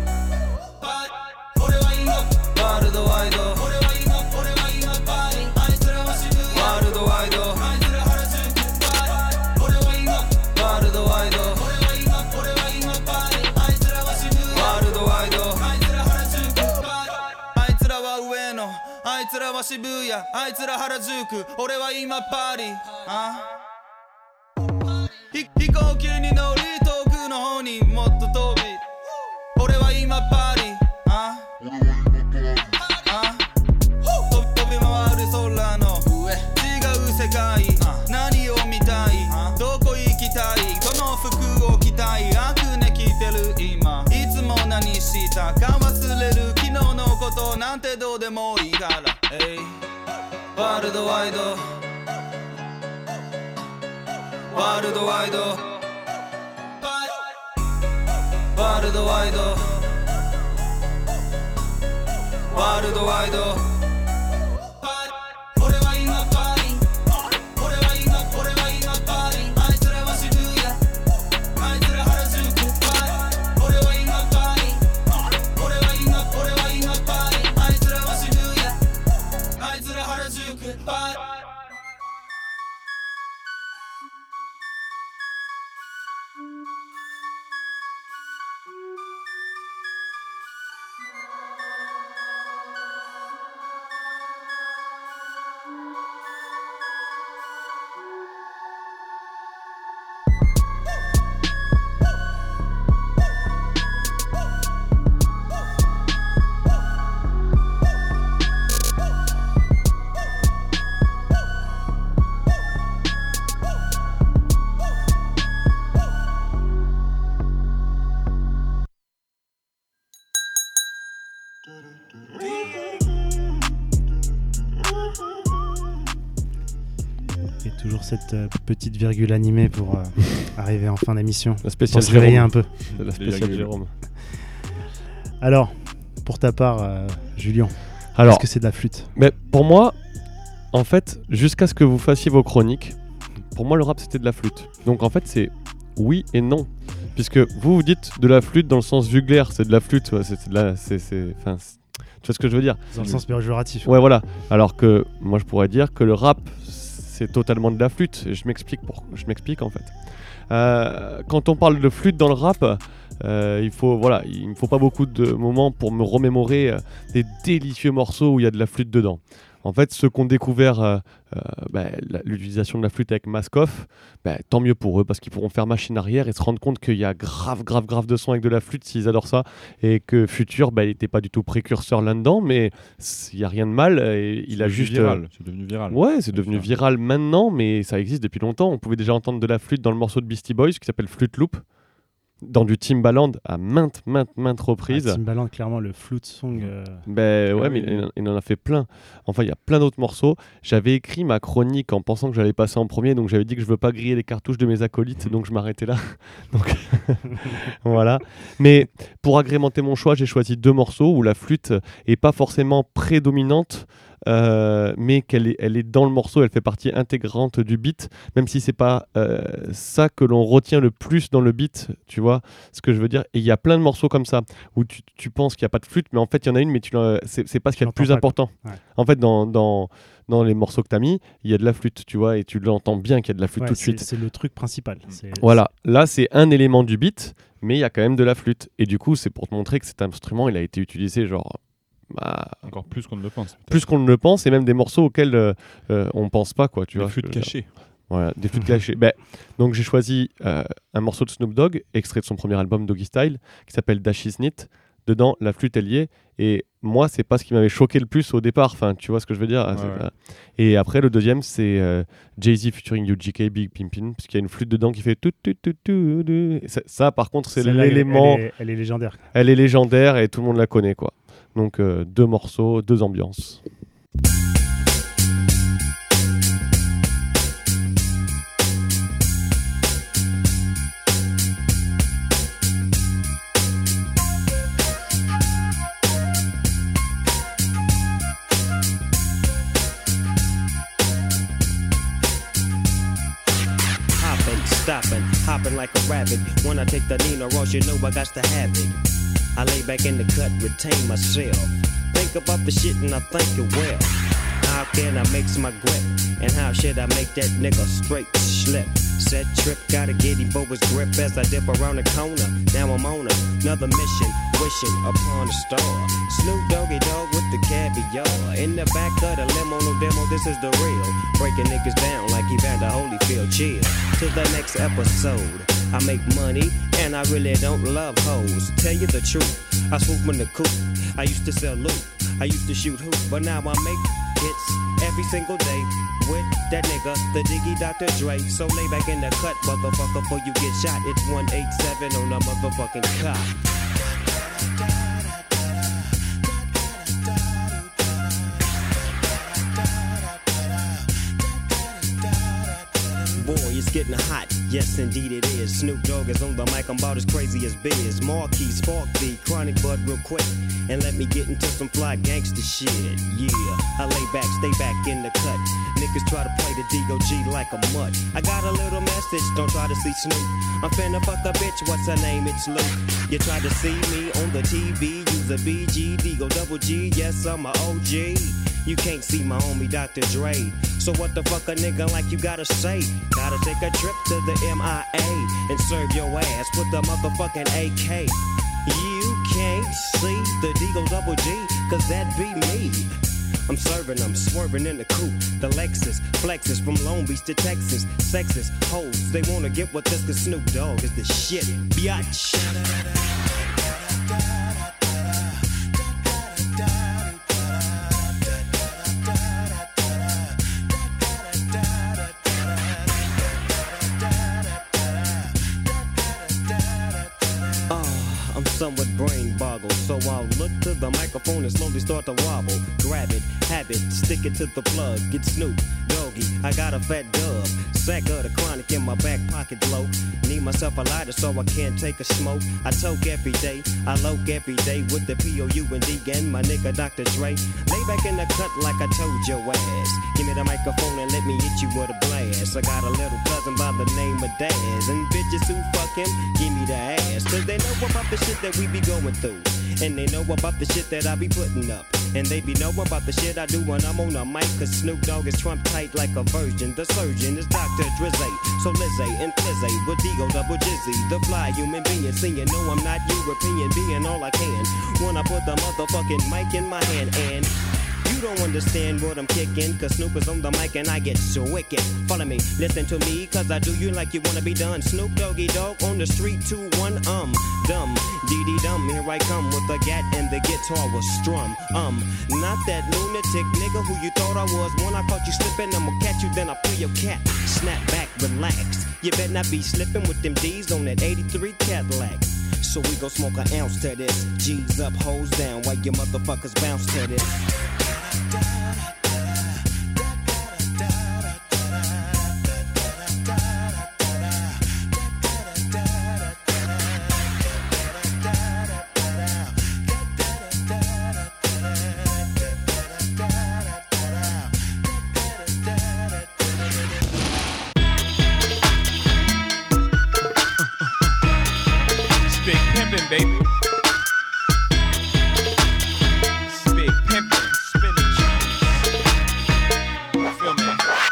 俺は今ワールドワイド俺は今パリあいつらは渋谷ワールドワイドあいつら原宿俺は今ワールドワイド俺は今パリあいつらは渋谷ワールドワイドあいつら原宿あいつらは上野あいつらは渋谷あいつら原宿俺は今パリ飛行機に乗り遠くの方にもっと飛び俺は今パリ飛び回る空の上違う世界何を見たいどこ行きたいこの服を着たいアクネ着てる今いつも何したか忘れる昨日のことなんてどうでもいいからワールドワイドワールドワイドワールドワイドワールドワイド俺は今パリ俺は今パリあいつらは渋谷あいつら原宿俺は今パリ俺は今パリあいつらは渋谷あいつら原宿 Et toujours cette petite virgule animée pour arriver en fin d'émission. La spéciale pour se réveiller un peu. La spéciale Jérôme. Alors, pour ta part, Julien, alors, est-ce que c'est de la flûte? Mais pour moi, en fait, jusqu'à ce que vous fassiez vos chroniques, pour moi le rap c'était de la flûte. Donc en fait c'est oui et non. Puisque vous dites de la flûte dans le sens vulgaire, c'est de la flûte, c'est de la... Enfin, tu vois ce que je veux dire? Dans le sens péjoratif. Ouais, voilà. Alors que moi je pourrais dire que le rap c'est totalement de la flûte. Et je m'explique en fait. Quand on parle de flûte dans le rap, il me faut pas beaucoup de moments pour me remémorer des délicieux morceaux où il y a de la flûte dedans. En fait, ceux qui ont découvert l'utilisation de la flûte avec Mask Off, tant mieux pour eux, parce qu'ils pourront faire machine arrière et se rendre compte qu'il y a grave de sons avec de la flûte s'ils adorent ça, et que Future, il n'était pas du tout précurseur là-dedans, mais il n'y a rien de mal. Et il a juste c'est devenu viral. Ouais, c'est devenu viral maintenant, mais ça existe depuis longtemps. On pouvait déjà entendre de la flûte dans le morceau de Beastie Boys qui s'appelle Flute Loop, dans du Timbaland à maintes reprises. Timbaland, clairement, le flute song. Mais il en a fait plein. Enfin, il y a plein d'autres morceaux. J'avais écrit ma chronique en pensant que j'allais passer en premier, donc j'avais dit que je veux pas griller les cartouches de mes acolytes, donc je m'arrêtais là. Donc voilà. Mais pour agrémenter mon choix, j'ai choisi 2 morceaux où la flûte est pas forcément prédominante, mais elle est dans le morceau, elle fait partie intégrante du beat, même si c'est pas ça que l'on retient le plus dans le beat, tu vois ce que je veux dire. Et il y a plein de morceaux comme ça où tu penses qu'il n'y a pas de flûte, mais en fait il y en a une, mais c'est pas ce qu'il y a de plus important. Ouais. En fait, dans les morceaux que tu as mis, il y a de la flûte, tu vois, et tu l'entends bien qu'il y a de la flûte tout de suite. C'est le truc principal. Voilà, là c'est un élément du beat, mais il y a quand même de la flûte. Et du coup, c'est pour te montrer que cet instrument, il a été utilisé genre... encore plus qu'on ne le pense. Plus qu'on ne le pense, et même des morceaux auxquels on ne pense pas, quoi. Tu vois, flûtes cachées. Voilà, des flûtes cachées. Donc j'ai choisi un morceau de Snoop Dogg, extrait de son premier album Doggy Style, qui s'appelle Dash Is Nit. dedans, la flûte elle y est. Et moi, c'est pas ce qui m'avait choqué le plus au départ. Enfin, tu vois ce que je veux dire. Ouais. Et après, le deuxième, c'est Jay-Z featuring UGK, Big Pimpin, parce qu'il y a une flûte dedans qui fait tout. Ça, par contre, c'est Celle-là, l'élément. Elle est légendaire. Elle est légendaire et tout le monde la connaît, quoi. Donc 2 morceaux, 2 ambiances. Stopping, hopping like a rabbit. When I take the Nina Ross, you know I got to have it. I lay back in the cut, retain myself. Think about the shit and I think it well. How can I mix my grip? And how should I make that nigga straight slip? Set trip, gotta get him for his grip as I dip around the corner. Now I'm on another mission, wishing upon a star. Snoop Doggy Dogg with the caviar. In the back of the limo, no demo, this is the real. Breaking niggas down like Evander Holyfield. Chill till the next episode. I make money and I really don't love hoes. Tell you the truth, I swoop in the coop. I used to sell loot, I used to shoot hoop, but now I make hits every single day with that nigga, the Diggy Dr. Dre. So lay back in the cut, motherfucker, before you get shot. It's 187 on the motherfucking cop. Boy, it's getting hot, yes indeed it is. Snoop Dogg is on the mic, I'm about as crazy as Biz. Marquis, Spark V, Chronic Bud real quick. And let me get into some fly gangster shit. Yeah, I lay back, stay back in the cut. Niggas try to play the D.O.G. like a mutt. I got a little message, don't try to see Snoop. I'm finna fuck a bitch, what's her name? It's Luke. You try to see me on the TV, use a BG, D-Go double G, yes I'm a OG. You can't see my homie Dr. Dre. So what the fuck a nigga like you gotta say? Gotta take a trip to the MIA and serve your ass with the motherfucking AK. You can't see the D-Go double G, cause that be me. I'm serving, I'm swerving in the coupe. The Lexus flexes from Long Beach to Texas. Sexist hoes, they wanna get with this cause Snoop Dogg is the shit, biatch. Somewhat brain boggled, so I'll look to the microphone and slowly start to wobble. Grab it, have it, stick it to the plug. Get Snoop Doggy, I got a fat dub. Sack of the Chronic in my back pocket bloke. Need myself a lighter so I can't take a smoke. I toke every day, I loke every day with the P-O-U-N-D and my nigga Dr. Dre. Lay back in the cut like I told your ass. Give me the microphone and let me hit you with a blast. I got a little cousin by the name of Daz, and bitches who fuck him, give me the ass. Cause they know about the shit that we be going through, and they know about the shit that I be putting up, and they be know about the shit I do when I'm on the mic. Cause Snoop Dogg is Trump tight like a virgin. The surgeon is Dr. Drizzy, so Lizzy and Flizzy with D-Go double Jizzy. The fly human being, seeing no I'm not European, being all I can when I put the motherfucking mic in my hand. And you don't understand what I'm kicking, cause Snoop is on the mic and I get so wicked. Follow me, listen to me, cause I do you like you wanna be done. Snoop Doggy Dogg on the street, 2-1, dumb, dee-dee-dum. Here I come with the gat and the guitar was strum. Not that lunatic nigga who you thought I was. When I caught you slipping, I'ma catch you, then I pull your cap. Snap back, relax. You better not be slipping with them D's on that 83 Cadillac. So we gon' smoke an ounce to this. G's up, hoes down, while you motherfuckers bounce to this. Baby, big pimpin', spinning cheese. Feel me?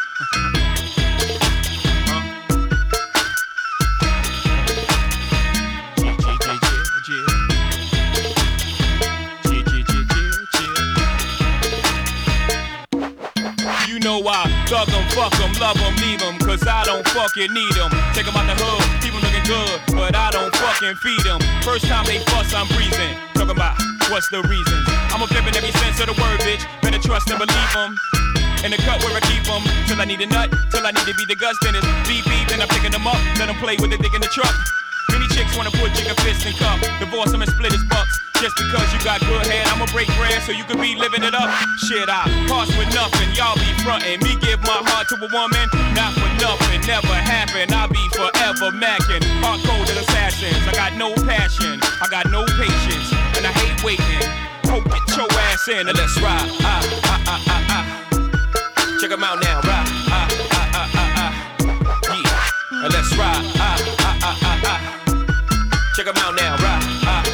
You know I thug 'em, fuck 'em, love 'em, leave 'em, cause I don't fucking need 'em. Take 'em out the hood, people looking good, but I don't fucking feed them. First time they fuss, I'm breathing. Talking about what's the reasons. I'm a pimp in every sense of the word, bitch. Better trust and believe them. In the cut where I keep them. Till I need a nut, till I need to be the guts. Then it's beep beep, then I'm picking them up. Let them play with the dick in the truck. Many chicks wanna put chicken fist in cup. Divorce them and split his bucks. Just because you got good head, I'ma break bread so you could be living it up. Shit, I pass with nothing, y'all be frontin'. Me give my heart to a woman, not for nothing, never happen. I'll be forever mackin'. Hard-coded assassins, I got no passion, I got no patience, and I hate waiting. Hope get your ass in and let's ride. Check 'em out now, ride. Yeah, and let's ride. Check 'em out now, ride.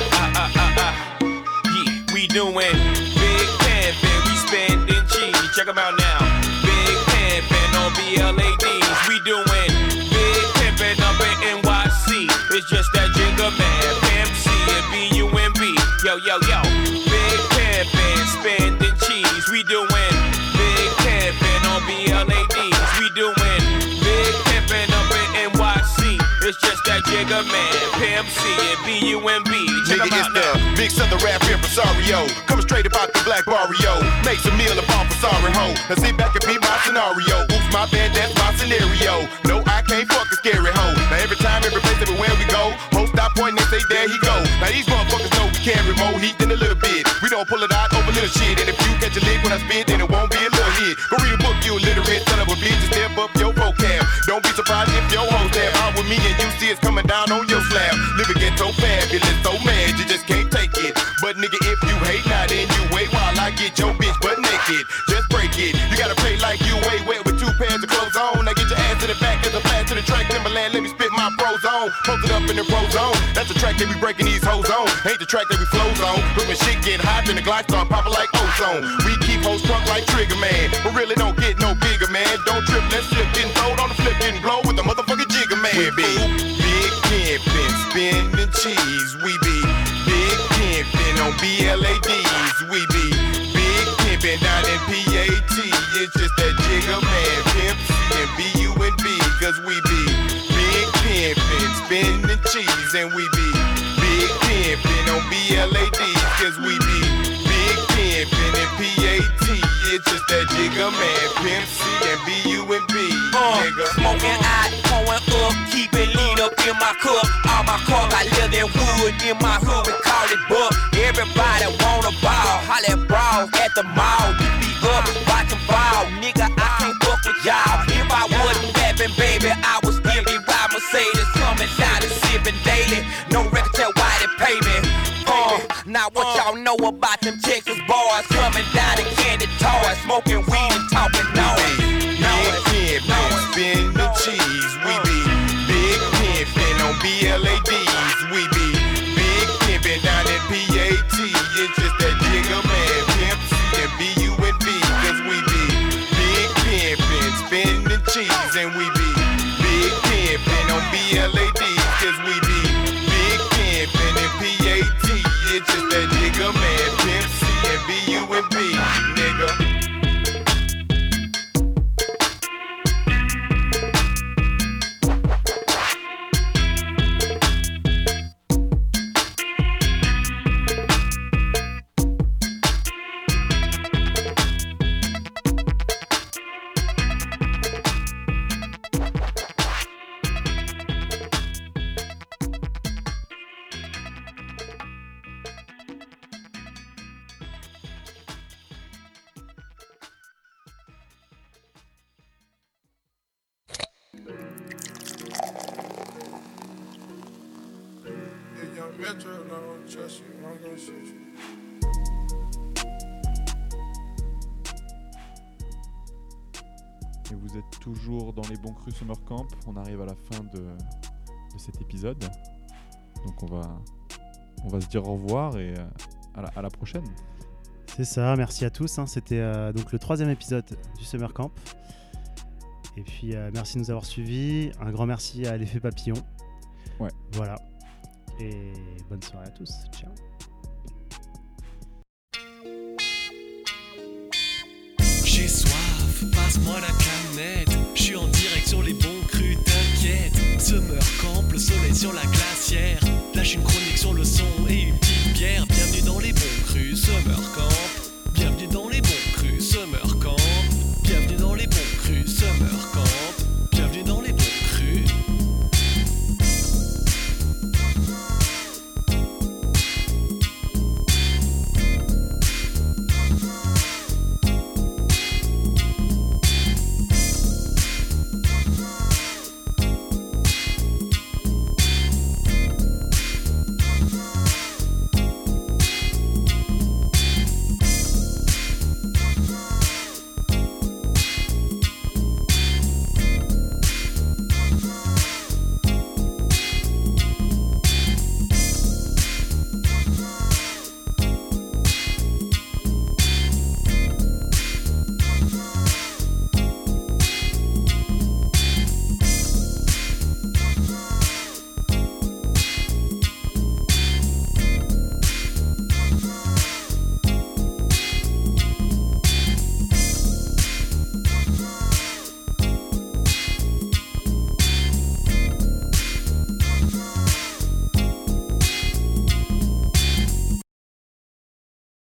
We doing big pimpin', we spendin' cheese. Check 'em out now. Big pimpin' on BLADs. We doing big pimpin' up in NYC. It's just that Jigga Man, Pimp C and B-U-M-B. Yo, yo, yo. Big pimpin', spendin' cheese. We doing big pimpin' on BLADs. We doing big pimpin' up in NYC. It's just that Jigga Man, Pimp C and B-U-M-B. Nigga, it's the big southern rap impresario. Coming straight about the black barrio. Make some meal about for sorry ho. Now sit back and be my scenario. Oops, my bad, that's my scenario. No, I can't fuck a scary hoe. Now every time, every place, everywhere we go, ho stop pointing and say, there he go. Now these motherfuckers know we carry more heat than a little bit. We don't pull it out over little shit. And if you catch a lick when I spit, then it won't be a little hit. Go read a book, you illiterate son of a bitch, and step up your vocab. Don't be surprised if your hoes tab out with me and you see it's coming down on your slab. Living ghetto fabulous, so mad you just can't take it. But nigga, if you hate, now then you wait while I get your bitch butt naked. Just break it. You gotta pay like you way wet with 2 pairs of clothes on. Now get your ass to the back as a blast to the track. Timberland, let me spit my pros on. Post it up in the pro zone. That's the track that we breaking these hoes on. Ain't the track that we flows on. But when shit get hot, then the glide start popping like ozone. We keep hoes drunk like Trigger Man. But really don't get no bigger, man. Don't trip, let's slip, getting throwed on the flip, getting blow with the motherfucking Jigga Man. We be big pimpin', spinning cheese. We be big pimpin' on BLADs. We be big pimpin' down in PAT. It's just that Jigga Man, Pimp C and B-U-N-B. Cause we be big pimpin', spinning cheese. And we be big pimpin' on BLADs. Cause we be big pimpin' in PAT. It's just that Jigga Man, Pimp C and B-U-N-B. Nigga. Smoking out, pouring up, keep it lean up in my cup. All my car got leather and wood in my hood, we call it buck. Everybody wanna ball, holla at brawls at the mall. We be up, watching ball, nigga, I can't fuck with y'all. If I wasn't rapping, baby, I would still be riding Mercedes, coming down and sipping daily. No record tell why they pay me. Now what y'all know about them Texas boys coming down in candy toys, smoking weed and talking noise. Big pimpin', spin the cheese. We be big pimpin' on BLADs. We be big pimpin' down in PAT. It's just that Jigga Man, Pimp C and B-U-N-B. Cause we be big pimpin', spin the cheese. And we be big pimpin' on BLADs. Cause we be big pimpin' in PAT. It's just that Jigga Man, Pimp C and B-U-N-B. Nigga. Et vous êtes toujours dans les bons crus Summer Camp. On arrive à la fin de cet épisode. Donc on va se dire au revoir et à la prochaine. C'est ça, merci à tous. C'était donc le 3e épisode du Summer Camp. Et puis merci de nous avoir suivis. Un grand merci à l'Effet Papillon. Ouais. Voilà. Et bonne soirée à tous. Ciao. J'ai soif, passe-moi la canette. Je suis en direct sur les bons crus, t'inquiète. Summer camp, le soleil sur la glacière. Lâche une chronique sur le son et une petite bière. Bienvenue dans les bons crus, Summer camp.